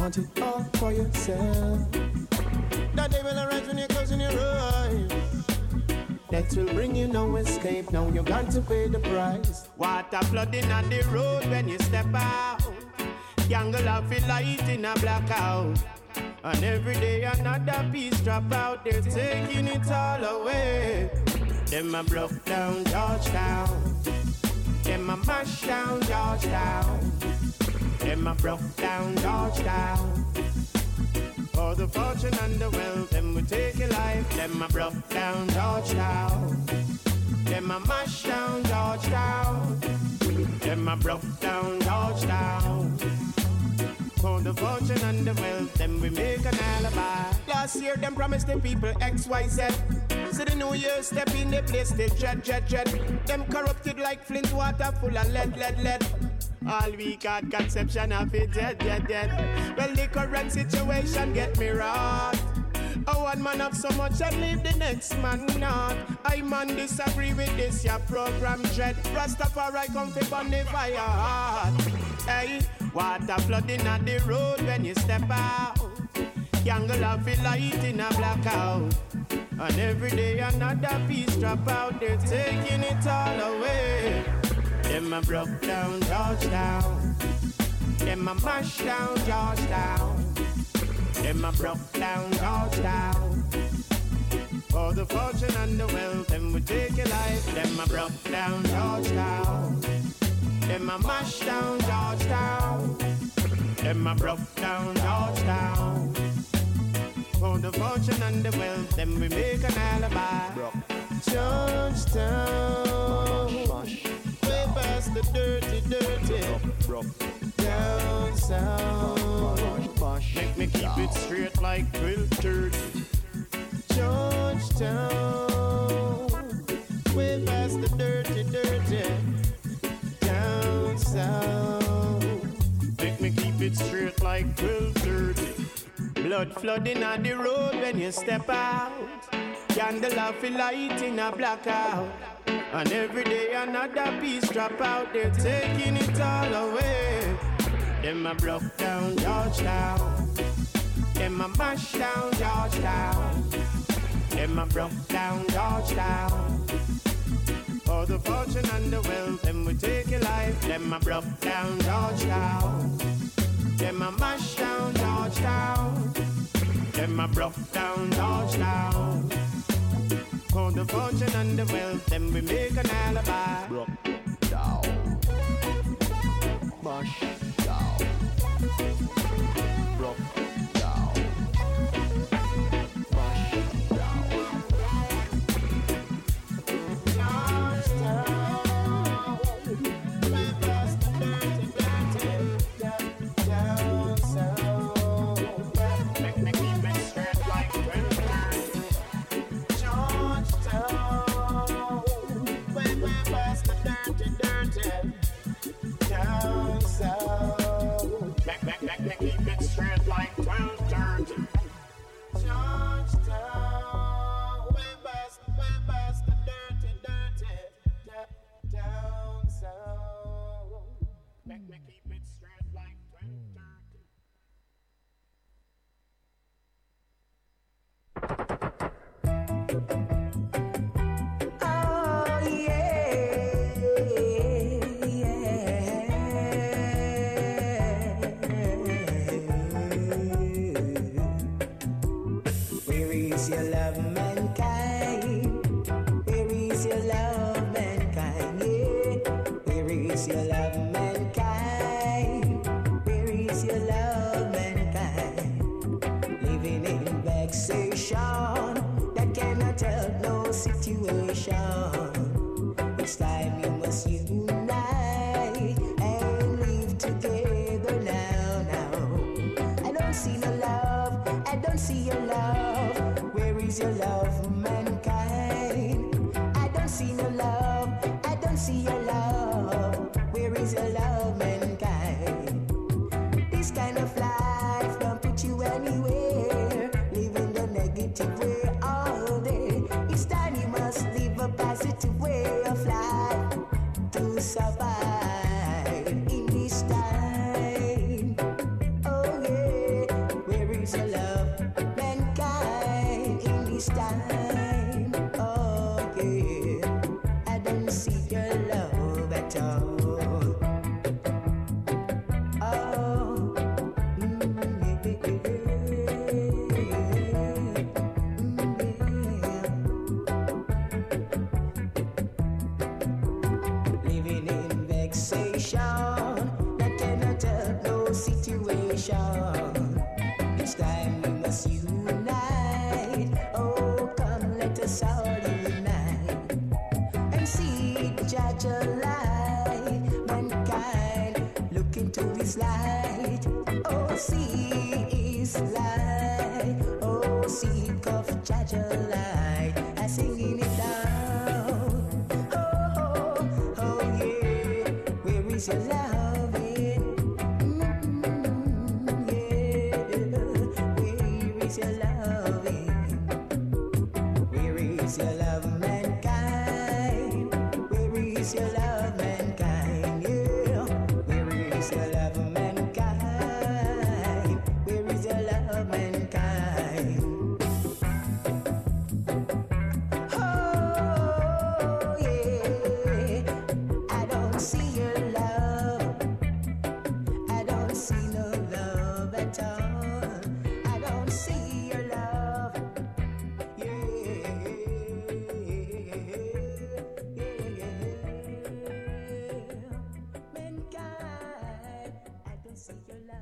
want it all for yourself. That day will arise when you're closing your eyes. That will bring you no escape. Now you got to pay the price. Water flooding on the road when you step out. Jungle of a light in a blackout. And every day another piece drop out. They're taking it all away. Them a broke down Georgetown. Them a mash down Georgetown. Them a broke down Georgetown. For the fortune and the wealth, them we take a life. Them a broke down Georgetown. Them a mash down Georgetown. Them a broke down Georgetown. For the fortune and the wealth, them we make an alibi. Last year, them promised the people X, Y, Z. So the new year step in the place, they dread, dread, dread. Them corrupted like Flint water full of lead, lead, lead. All we got conception of it, dead, dead, dead. Well, the current situation get me wrought. Oh, one man have so much and leave the next man not. I man disagree with this, your program dread. Rastafari come fi burn the fire hard. Hey, water flooding on the road when you step out. Jungle of a light in a blackout. And every day another piece drop out. They're taking it all away. Them a broke down Georgetown. Them a mash down Georgetown. Them a broke down Georgetown. For the fortune and the wealth, them we take a life. Them a broke down Georgetown. Them a mash down Georgetown. Them a broke down Georgetown. For the fortune and the wealth, them we make an alibi. Georgetown, way past the dirty, dirty. Down south, make me keep it straight like twelve thirty. Georgetown, way past the dirty, dirty. Down south, make me keep it straight like twelve thirty. Blood flooding on the road when you step out. Candle of a light in a blackout. And every day another piece drop out. They're taking it all away. Them a broke down Georgetown. Them a mash down Georgetown. Them a broke down Georgetown. For the fortune and the wealth, them we take a life. Them a broke down Georgetown. Them a mash down Georgetown. Them a broke down Georgetown. For the fortune and the wealth, them we make an alibi. Broke down. Mash down. Broke down. Mash down. Georgetown. Way past the dirty, dirty. Down south. Make me keep it straight like twelve thirty. Georgetown. Way, way past the dirty, dirty. Down south. Make, make, make me keep it straight like twelve thirty. Georgetown. Way past, way past the dirty, dirty. Da- down south. Make me keep it straight like twelve thirty. Oh yeah, yeah. Where is your love, mankind? Where is your love, mankind? Yeah. Where is your love, mankind? Where is your love, mankind? Living in vexation that cannot help no situation. It's time you must unite and live together now, now. I don't see no love, I don't see your love. Where is your love, mankind? I don't see no love, I don't see your love. Where is your love, mankind? This kind of life don't put you anywhere. Living the negative way all day. It's time you must live a positive way of life to survive in this time. Oh yeah. see is light. Oh, seek of Jaja light. I singing it down. Oh, oh, oh, yeah. Where is your loving? Mm-hmm, yeah. Where is your loving? Where is your love, mankind? Where is your love, mankind? Yeah. Where is your love, mankind? Where is your love, mankind? Oh, yeah. I don't see your love. I don't see no love at all. I don't see your love. Mankind, I don't see your love.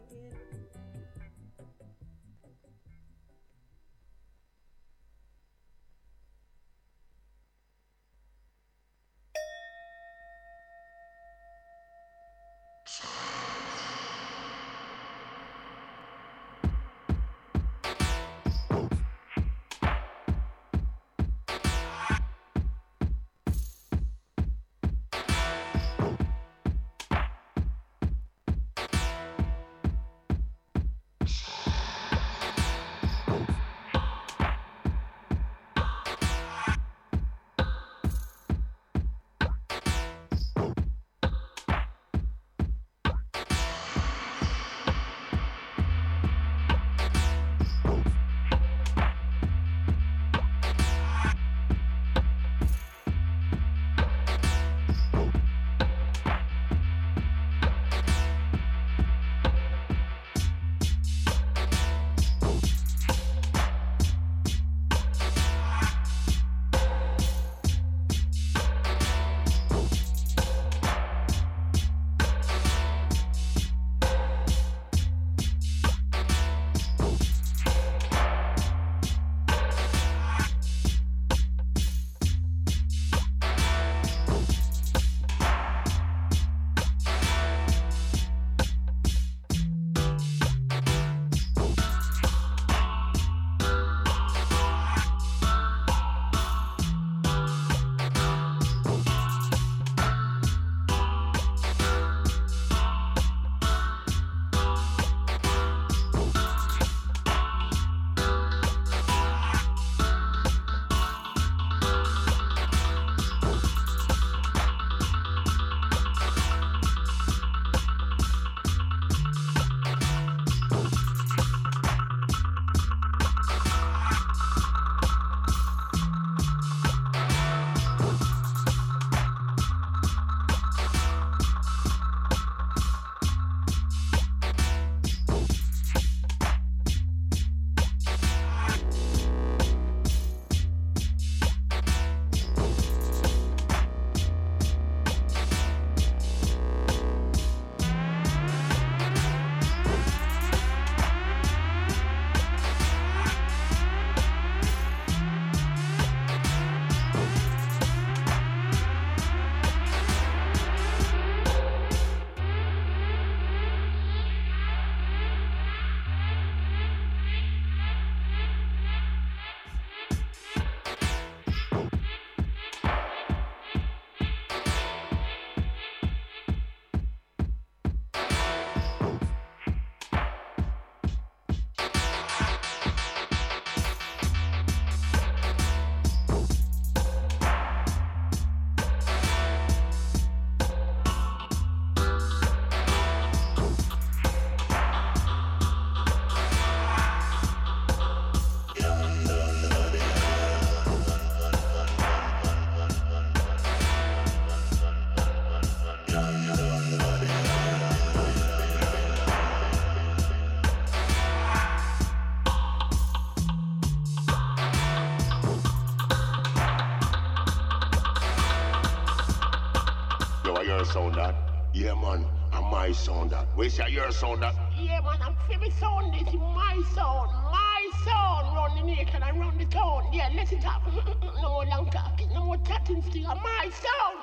your sound that? Yeah, man, I'm my sound that. Where's your sound that? Yeah, man, I'm favorite sound. This is my sound. My sound. Run the nation and run the town. Yeah, listen up. No more long talking. No more chatting still. My sound.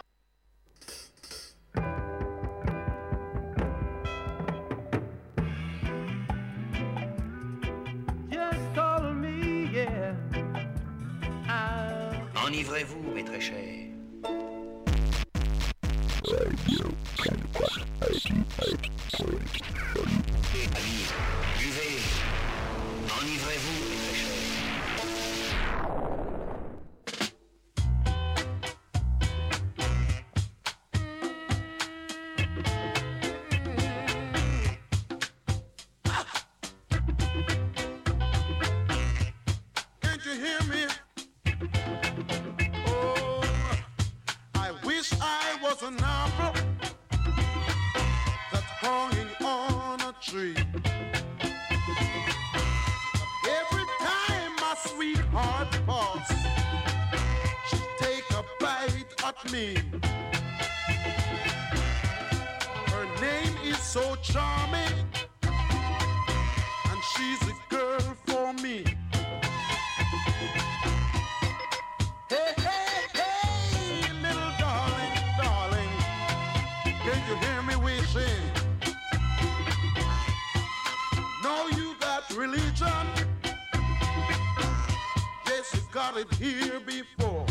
Enivrez-vous, mes très chers. Allez, buvez. Enivrez-vous, mes très chers. Can't you hear me? Oh, I wish I was an apple that's hanging on a tree. Every time my sweetheart pass, she take a bite at me. Her name is so charming, and she's a girl for me. Hey, hey, hey, little darling, darling, can you hear me wishing? Know you got religion? Yes, you got it here before.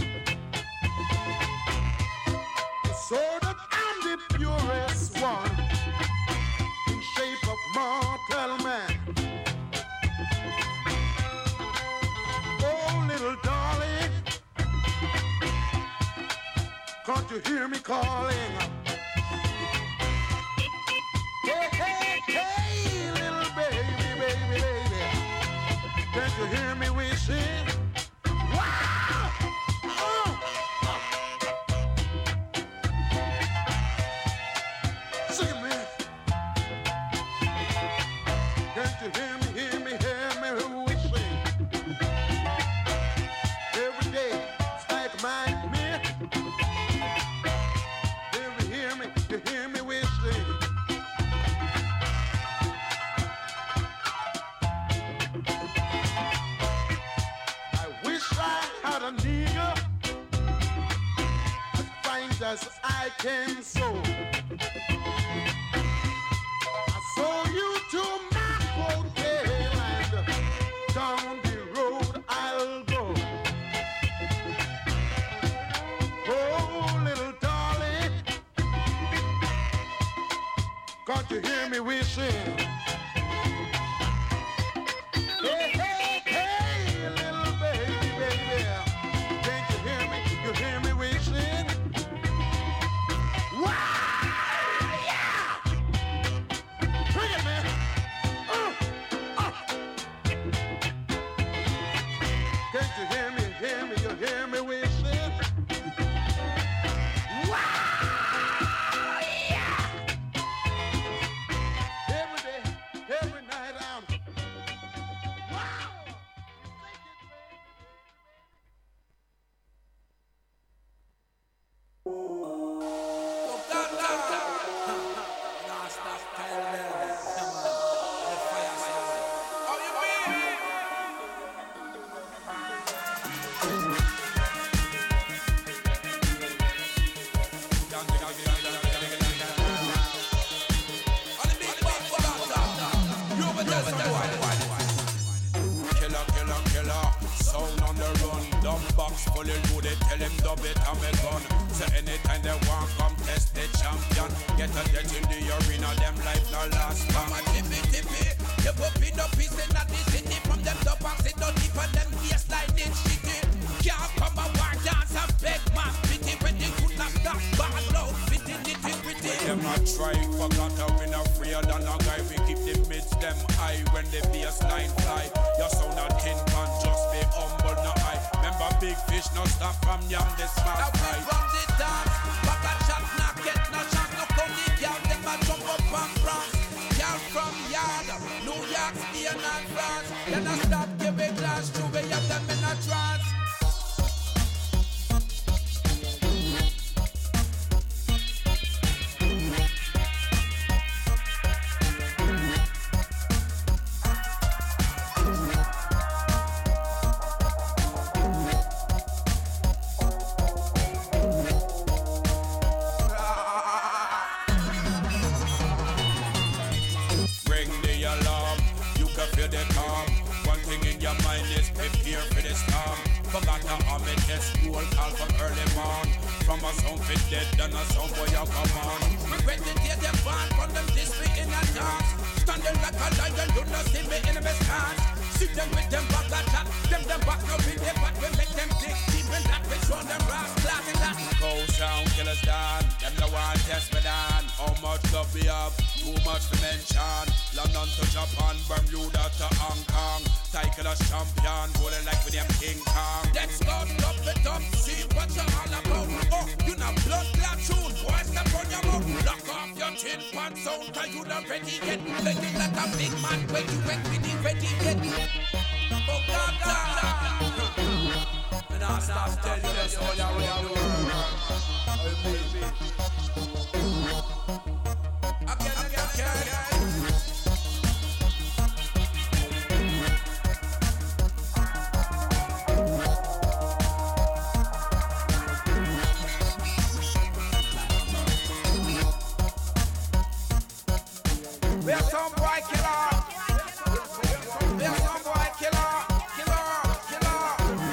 So that I'm the purest one in shape of mortal man. Oh, little darling, can't you hear me calling? Hey, hey, hey, little baby, baby, baby, can't you hear me wishing? Wow! Oh! Sing it, man. Can't you hear me, hear me, hear me wishing? Every day, it's like my me. Hear me, hear me, you hear me wishing. I wish I had a nigger as fine as I can sew. I saw you to my hotel and down the road I'll go. Oh, little darling, can't you hear me wishing? Hey, hey, hey, little baby, baby, can't you hear me? You hear me wishing? Wow, yeah! Bring it, man. Uh, uh. Can't you hear me? Hear me? You hear me wishing? Wow, yeah! Every day, every night I'm. Wow! Killer, killer, killer, sound on the run. Dumb box fully loaded, tell him dub it, I'm a gun. So anytime they want come test the champion, get a death in the arena, them life no last. Come on, tippy, tippy, you up in the piece in the city. From them top and sit down deep and them baseline in shitty. Can't come and walk dance and beg man pity. When they could not stop, bad low, fitting nitty gritty. Them a try, forgot how we not afraid than a guy. We keep the mids them high when the baseline fly. Your sound a tin can just be humble, no high. Remember big fish no stop from yam the smart fry. Now we run the dance, back a shot, not get no shot, no funny girl. Them a jump up and prance. Girl from yard, New York, Spain and France. Then I stop, give a glass to we have them in a trance. Ring the alarm, you can feel the calm. One thing in left school, call from early morn. From a sound fit dead, then a sound boy a come on. Regret the day them born, from them this me in a dance. Standing like a lion, you not see me in a stance. See them with them back a chat, them them back no in their back. We make them dig deep in that, we show them brass, glass in that. Cold sound killers down, them no one test me down. How much love we have, too much to mention. London to Japan, Bermuda to Hong Kong. Cycle as champion, rolling like with them King Kong. Let's go, love it up, see what you're all about. Oh, you know blood clot tune, boy step on your mouth. Lock off your chin, pants out, cause you not ready yet. Play it like a big man, when you went with the ready yet. Oh God, God. And I stop tell you that's all you want to do. Again, again, again. We are some boy killer. We are some boy killer. Killer, killer.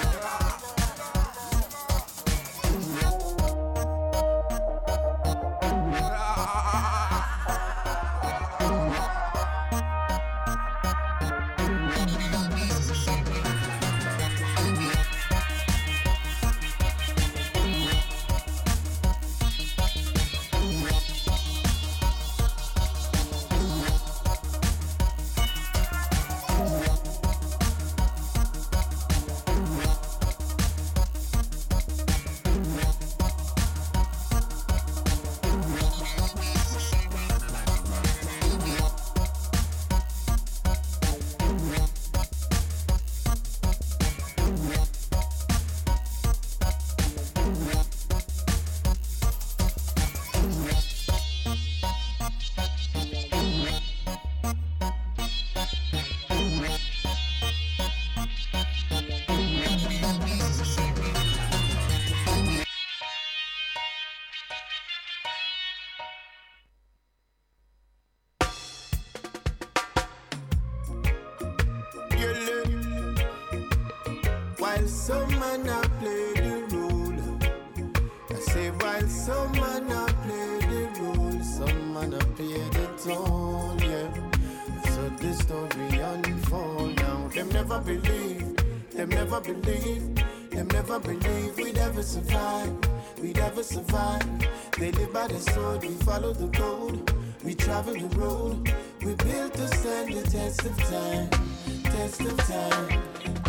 While some man a play the role, I say while some man a play the role, some man a play the tone, yeah. So this story unfold now. Them never believe, them never believe, them never believe we'd ever survive, we'd ever survive. They live by the sword, we follow the code, we travel the road, we built to stand the test of time, test of time.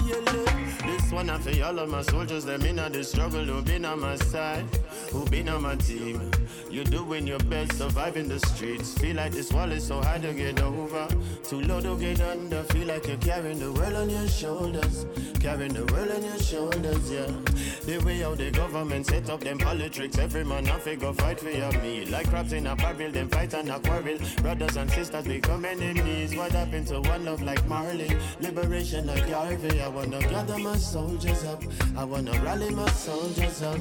This one I for all of my soldiers, them in the struggle, who been on my side, who been on my team. You're doing your best, surviving the streets. Feel like this wall is so hard to get over, too low to get under. Feel like you're carrying the world on your shoulders, carrying the world on your shoulders, yeah. The way how the government set up them politics, every man have to go fight for your meal. Like crabs in a barrel, them fight and a quarrel. Brothers and sisters become enemies. What happened to one love like Marley? Liberation like Garvey. I wanna gather my soldiers up, I wanna rally my soldiers up.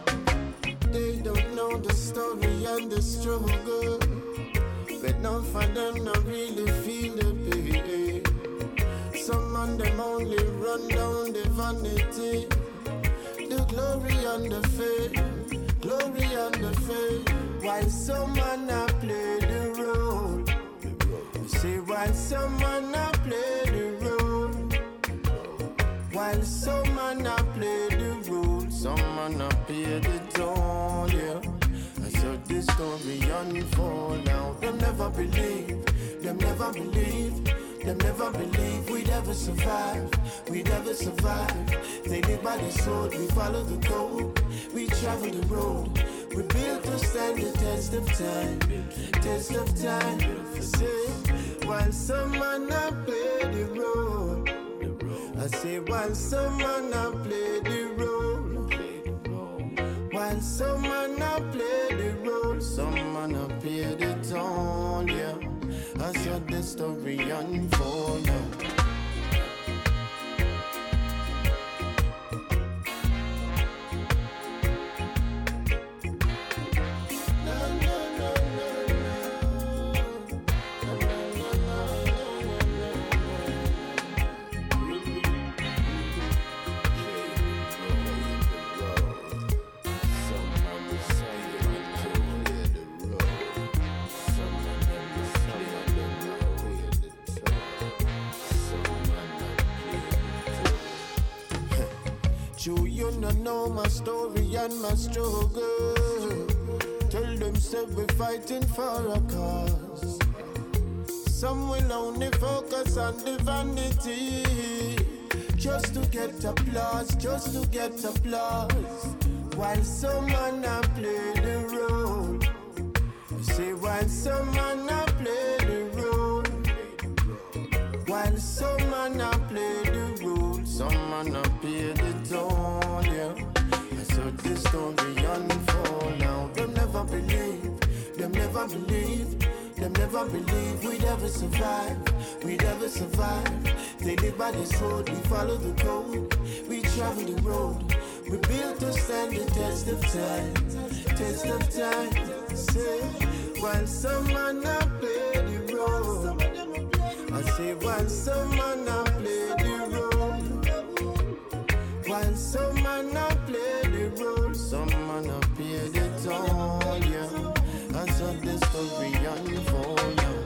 They don't know the story and the struggle, but none for them not really feel the pain. Some of them only run down the vanity, the glory and the fame, glory and the fame. While some man a play the role, you see, while some man a play the role, while some man a play the role, some man a pay the toll, yeah. I saw this story unfold now. Them never believe, them never believe, them never believe we'd ever survive, we'd ever survive. They live by the sword, we follow the code, we travel the road, we built to stand the test of time, test of time. Say, while some man a play the role, I say while some man a play the role, while some man a play the role, some man a play the tone, yeah. I saw the story unfold now. Sure, you no know my story and my struggle. Tell them say we're fighting for a cause. Some will only focus on the vanity, just to get applause, just to get applause. While some man a play the role, say while some man a play the role, while some man a play the role, some man a pay the toll, yeah. So this story unfold now. Them never believe, them never believe, them never believe we'd ever survive, we'd ever survive. They live by this road, we follow the code, we travel the road. We built to stand the test of time, test of time. Say, while some man a play the role, I say, while some man a play the role, while some man a play the role, some man a pay the toll, yeah. And so the story unfold, yeah.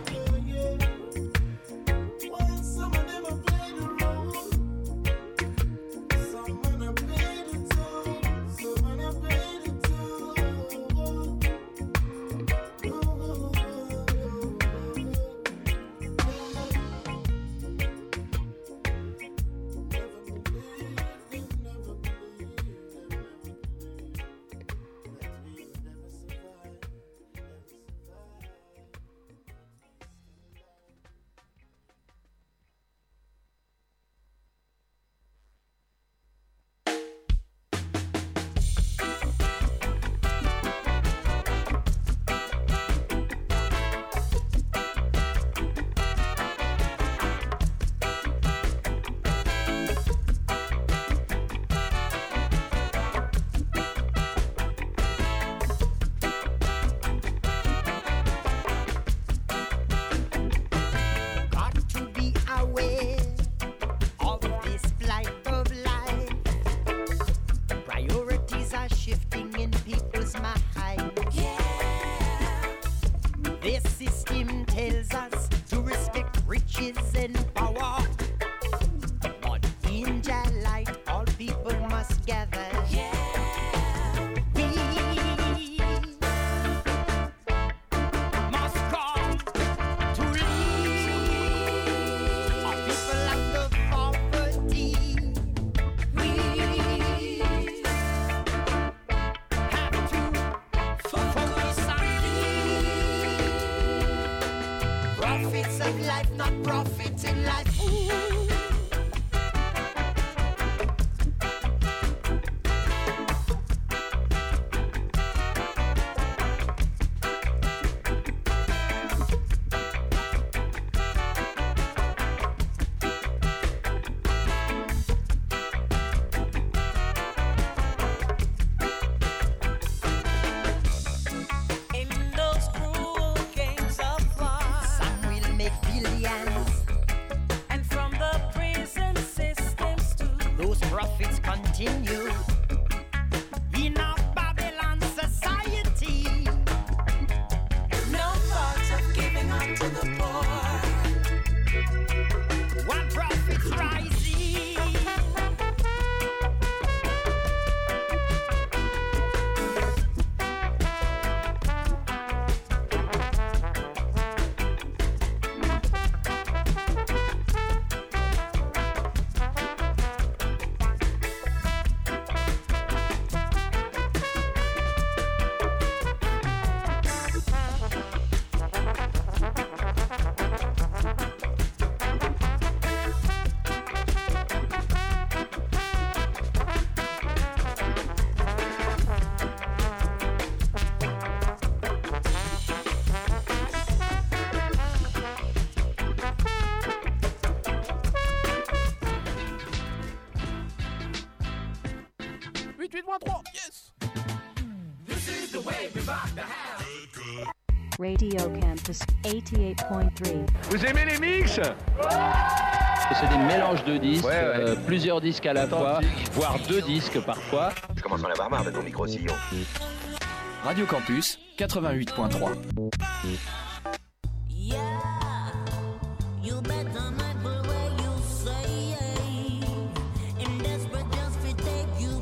Radio Campus eighty-eight point three. Vous aimez les mix? C'est des mélanges de disques, ouais, ouais. Euh, plusieurs disques à la fois, voire deux disques parfois. Je commence à en avoir marre de ton micro-sillon. Radio Campus quatre-vingt-huit point trois. You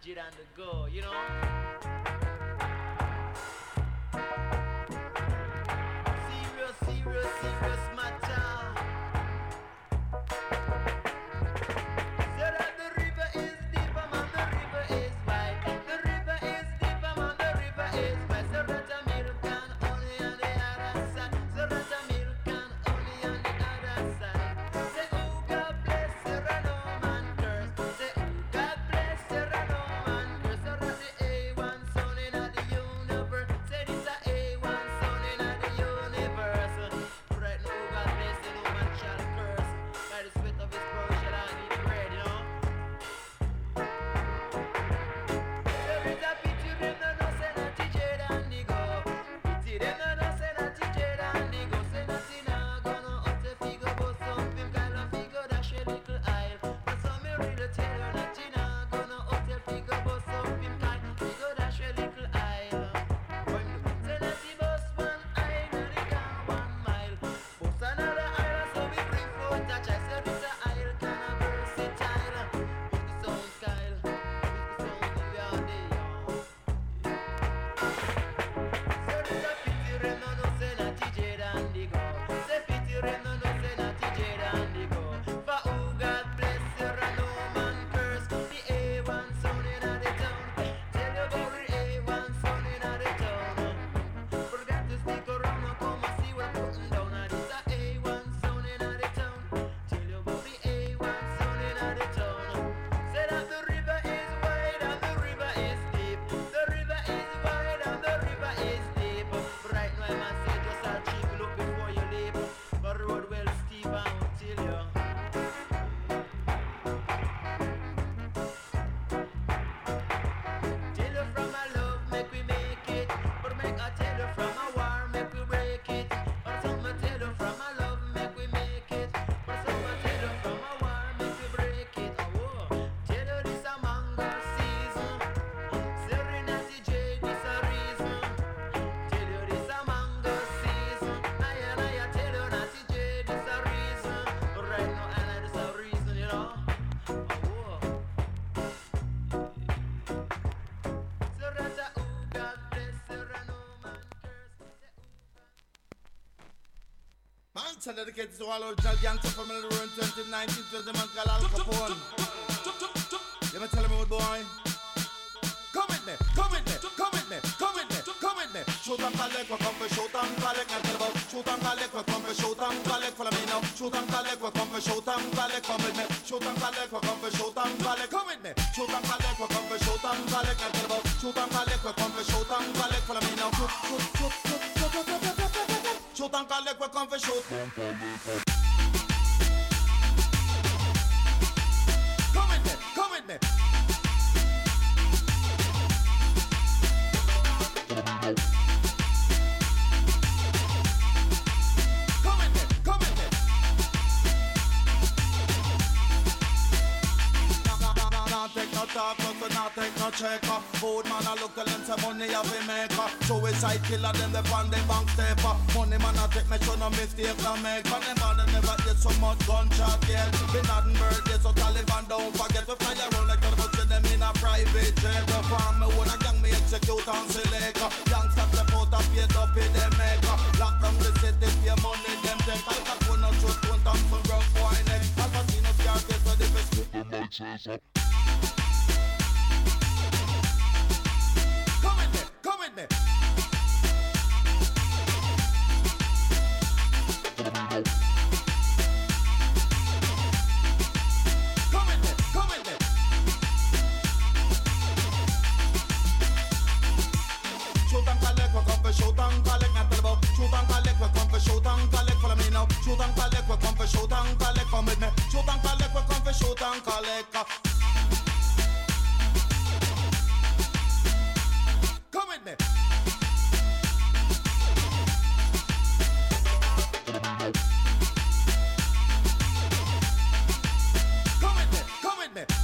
attitude and the go, you know. Serious, serious, serious matter. So that the river is deep, man, the river is wide. The river is deep, man, the river is wide. So that a milk can only on the other side. So that a milk can only on the other side. Say, oh God bless you, and no man curse. Say, oh God bless you, and no man curse. So that the A one son in the universe. Say this a A one son in the universe. Right now, God bless you, no man shall curse. By the sweat of his brow shall I eat bread, you know. There is a pity them no no say not T J and the go. Pity them no no say not T J and the go. Say nothing now gonna out the figure but something kind of figure dash a little aisle. But some me really tell you nothing now gonna out the figure but something kind of figure dash a little aisle. Say nothing bus one aisle and the car one mile. Bus another aisle so we bring forth a child. Say this a aisle kind of versatile. With the sound style, with the sound of your day. Say this a pity them no no say not T J and the go. Say pity them no no say not T J and the go. For who God bless you and no man curse. The A one son in the town. Tell you about the A one son in the town. Forget to stick around and come and see what I'm putting down. And this a A one son in the town. Tell you about the A one son in the town. Say that the river is wide and the river is deep. The river is wide and the river is deep. Right now I must say just a cheap look before you leave. But the road well steep and will tell you. Tell you from my love, make we make it. But make I tell you from my war, make we break it. Or some I tell you from my love, make we make it. Or some I tell you from my war, make we break it. Oh, tell you this a mango season. Serenity J, this a reason. Tell you this a mango season. I and I tell you Natty J, this a reason. But right now I know this a reason, you know. Oh, so that's a oh God bless her and no man curse. Man, so dedicated to all original gangsters from the run twenty nineteen to the man called Al Capone. You me tell me what boy? Come with me, come with me, come with me, come with me, come with me. Shoot and collect, we come for shoot and collect. And tell about shoot and collect, we come for shoot and collect. Follow me now. Shoot and collect, we come for shoot and collect. Come with me. Shoot and collect, we come for shoot and collect. Come with me. Shoot and collect, we come for shoot and collect. And tell about shoot and collect, we come for shoot and collect. Follow me now. Shoot, shoot, shoot, shoot, shoot, shoot, shoot, shoot, shoot. Shoot and collect, we come for shoot. Come with me, come with me. Come with me, come with me. Not take no talk, but not take no check. Food man a look at them say money have a maker. Suicide killer them the on the bank stepper. Money man a take me show no mistake no make. And them man never get so much gunshot yet. Been not in birthday so Taliban don't forget. We fly around like them but see them in a private jet. The farm me own a gang me execute and select. Youngsters step out and paid up in them maker. Lock down the city pay money them take. Al Capone and shoot one time for rough boy neck. Al Pacino Scarface so the best with the mic chaser. Come with me, come with me. Come with me, come with me. Shoot and collect, we come for shoot and collect. Not tell about shoot and collect, we come for shoot and collect. Follow me now. Shoot and collect, we come for shoot and collect. Come with me. Shoot and collect, we come for shoot and collect. Come with me. Come with me, come with me.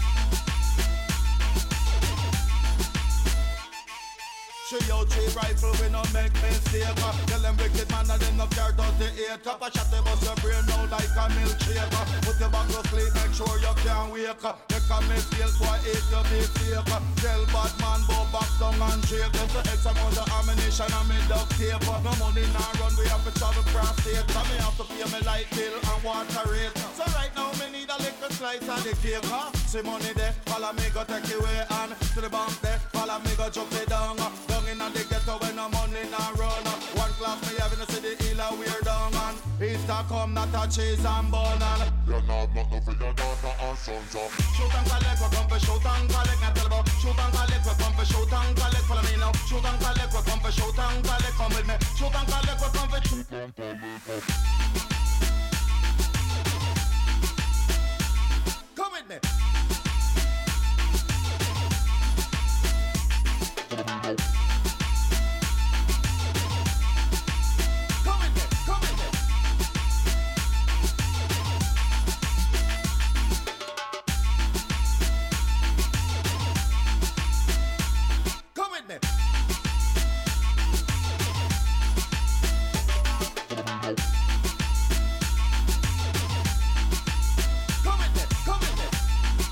She out three rifle, we no make mistake. Tell them wicked man and them no care thirty-eight. Cup a shot, they bust your brain now like a milkshake. Put your back to sleep, make sure you can't wake. Make a mistake, boy, it to be fake. Tell bad man, go back down and shake. There's an X amount of ammunition and me duct tape. No money now run, we have to travel cross state. So me have to pay me light bill and water rate. So right now me need a little slice of the cake, huh? See money there, follow me go take you away and to the bank there, follow me go jump it down. Down in the ghetto when no money now run. One class me having to see the healer we're down and Easter come not a cheese and bun and you're not nothing for your daughter and sons up. Shoot and collect, we come for shoot and collect. Now tell about shoot and collect, we come for shoot and collect. Follow me now. Shoot and collect, we come for shoot and collect. Come with me. Shoot and collect, we come for shoot and collect. Come with me. Come with me, come with me.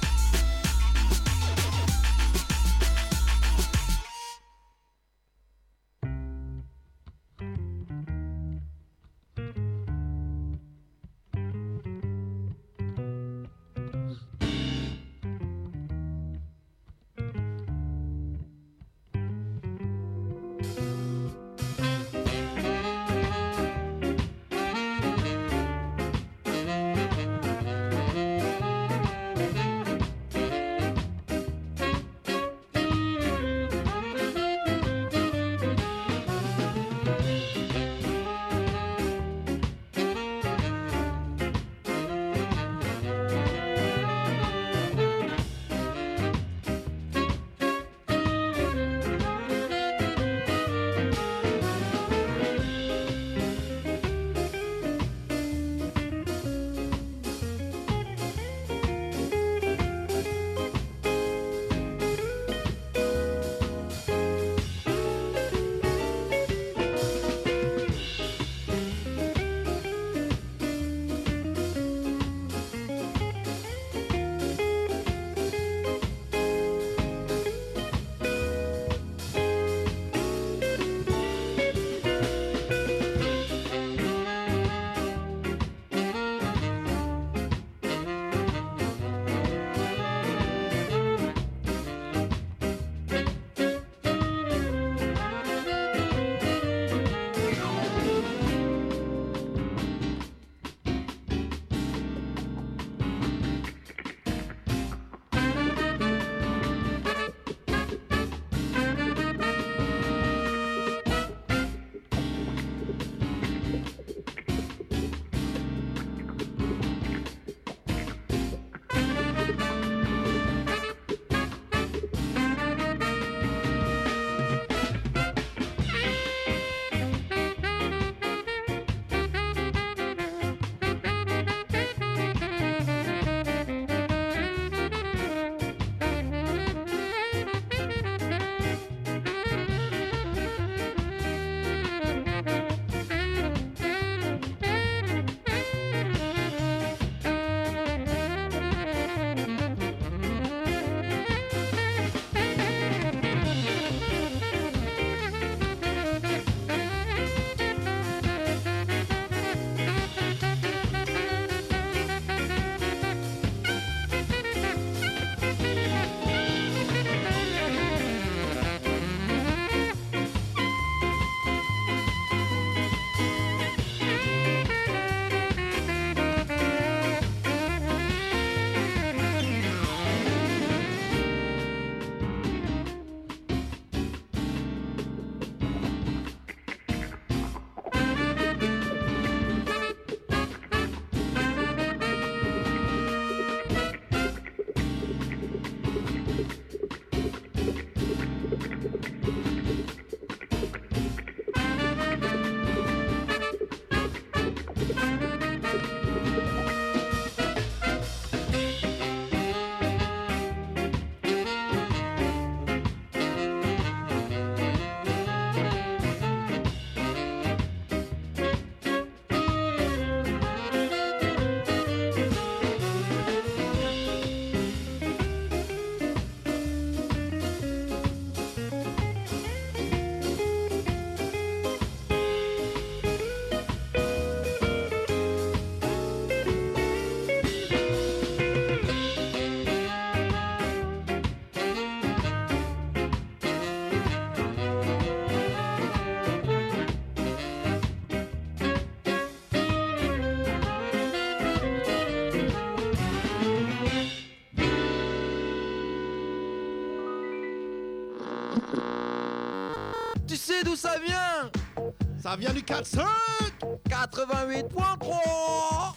sais d'où ça vient? Ça vient du quatre cinq quatre-vingt-huit point trois.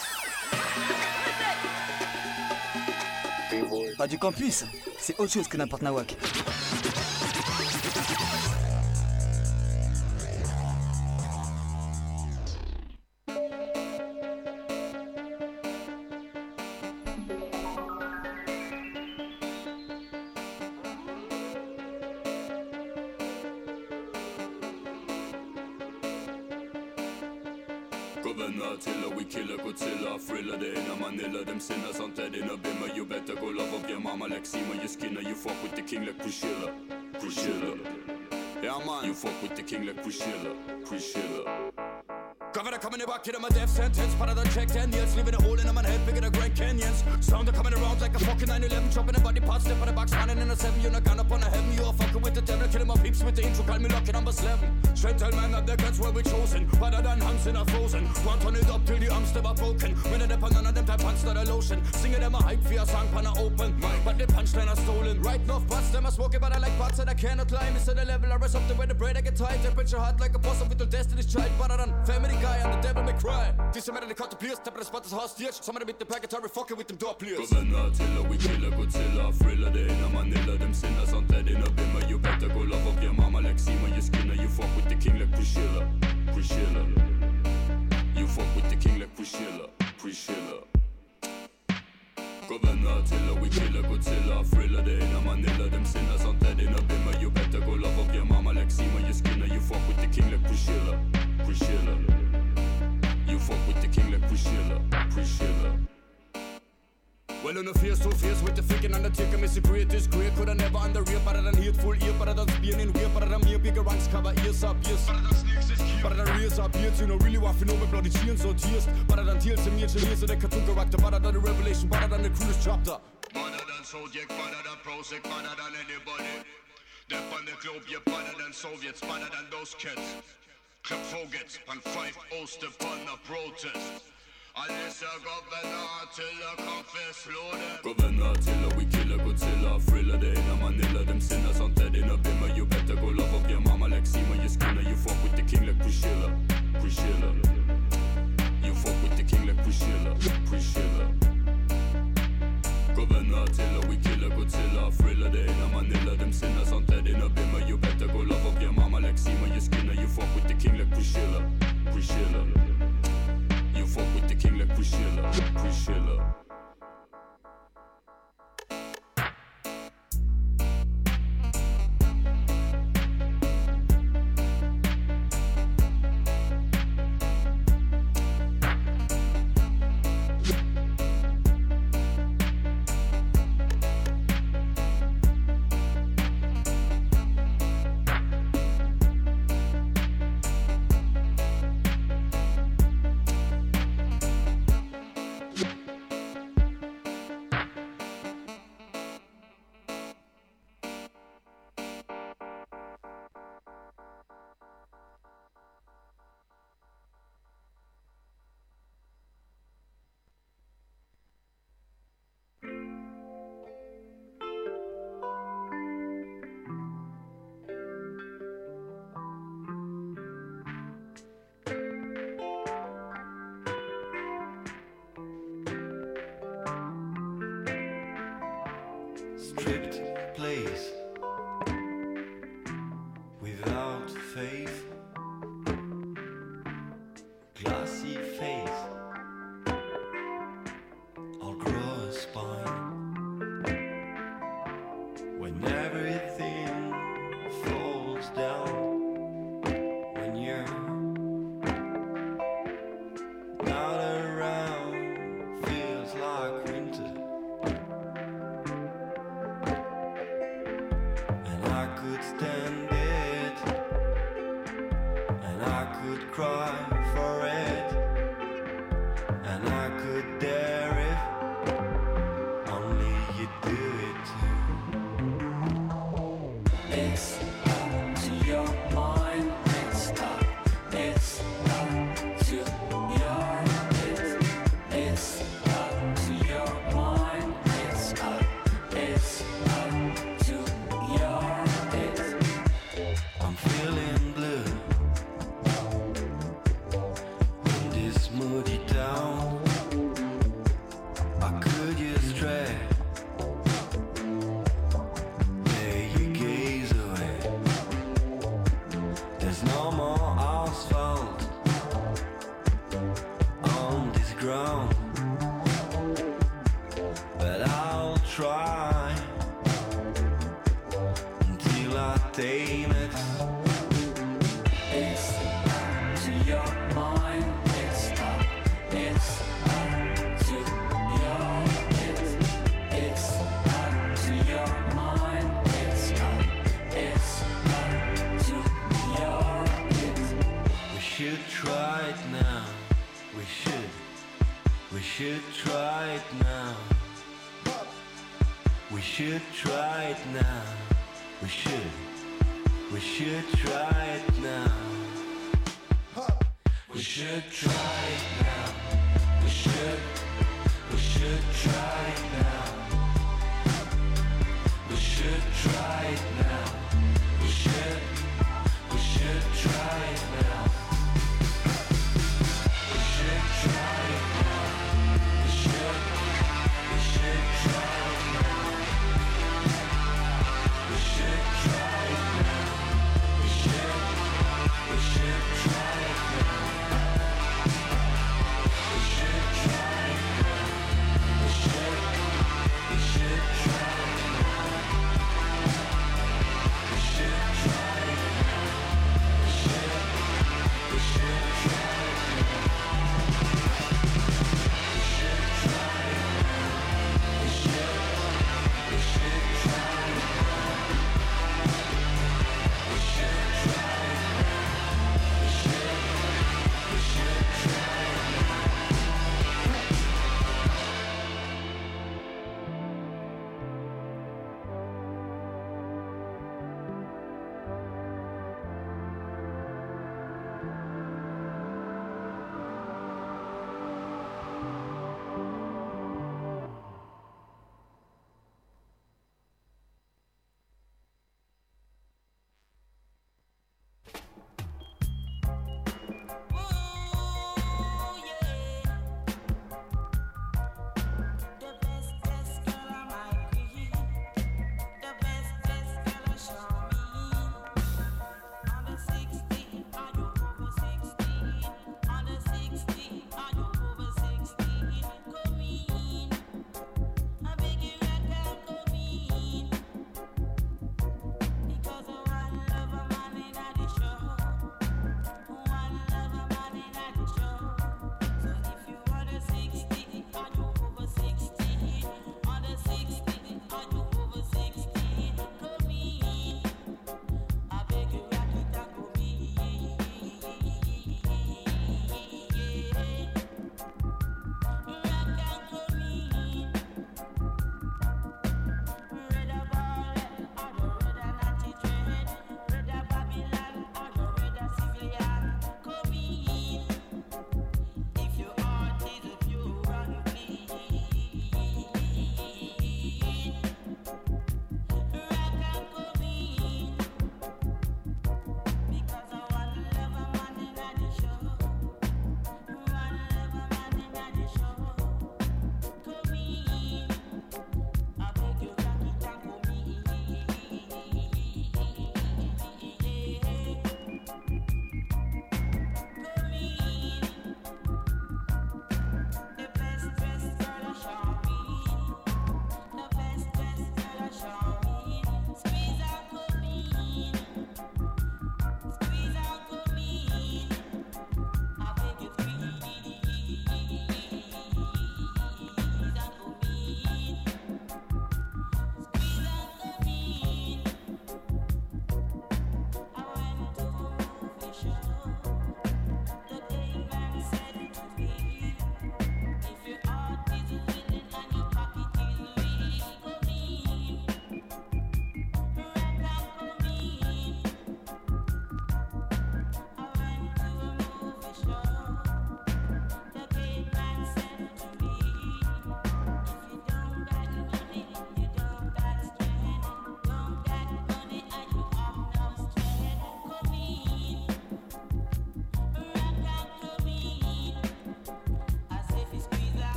Radio Campus, c'est autre chose que n'importe nawak. Governor, tiller, we killer, Godzilla, thriller, they in a Manila, them sinners on dead in a bimmer. You better go love up your mama like Seema, your skinner. You fuck with the king like Priscilla, Priscilla. Yeah man, you fuck with the king like Priscilla, Priscilla. Governor coming back, hit him a death sentence. Part of the check ten years, leaving a hole in my head bigger than Grand Canyons. Sound are coming around like a fucking nine eleven, chopping a body part, step on the box, standing in a seven. You're not gun up on a heaven, you are fucking with the devil, killing my peeps with the intro, call me lucky number eleven. Straight tell man that the guns where we chosen, better than hands in a frozen. Want turn it up till the arms never broken. When it upon none of them type pants that are lotion. Singing them a hype for your song pan a open mic, but the punchline are stolen. Right enough butts, them a smoking, but I like butts and I cannot climb. It's at the level I rest up the way the bread I get tight. Temperature hot like a boss of with the destiny's child, better than family guy and the devil may cry. This a matter they cut the place, tap of the spot is hostage. Some of them with the packetary fucking with them door players. Governor, tiller, we killer, Godzilla, thriller, they in a Manila, them sinners on dead in a bimmer. You better go love up your mama like Seema, your skinner. You fuck with the king like Priscilla, Priscilla. You fuck with the king like Priscilla, Priscilla. Governor, tiller, we killer, Godzilla, thriller, they in a Manila, them sinners on dead in a bimmer. You better go love up your mama like Seema, your skinner. You fuck with the king like Priscilla, Priscilla. You fuck with the king like Priscilla, Priscilla. Well, on the face to face with the freaking undertaker, Missy great is great. Could I never under rear, better than hateful ear, better than being in weird, better than me, bigger ranks cover ears up, ears. Better than snakes is cute, better than raise up beards. You know, really want to know my bloody chains or tears. Better than tears and major layers of the cartoon character, better than the revelation, better than the coolest chapter. Better than Zodiac, better than Prozac, better than anybody. Death on the globe, you're better than Soviets, better than those kids. Club forgets, and five Oster upon a protest. Unless a governor till a confess loaded. Governor tiller, we killer, Godzilla, thriller, they in a Manila, them sinners on dead in a bimmer. You better go love up your mama like Seema, your skinner. You fuck with the king like Priscilla, Priscilla. You fuck with the king like Priscilla, Priscilla. Governor tiller, we killer, Godzilla, thriller, they in a Manila, them sinners on dead in a bimmer. You better go love up your mama like Seema, your skinner. You fuck with the king like Priscilla, Priscilla. You fuck with the king like Priscilla, Priscilla. Stripped place without faith, glassy face, I'll grow a spine when everything falls down, when you're not around, feels like winter. Stand it, and I could cry for it, and I could dare it, only you do it. It's up to your mind, it's up, it's up to your, it's, it's up to your mind. try until I tame it. It's up to your mind. It's up. It's up to your it. It's up to your mind. It's up. It's up to your it. We should try it now. We should. We should try it now. We should try it now. We should. We should try it now. We should try it now. We should. We should try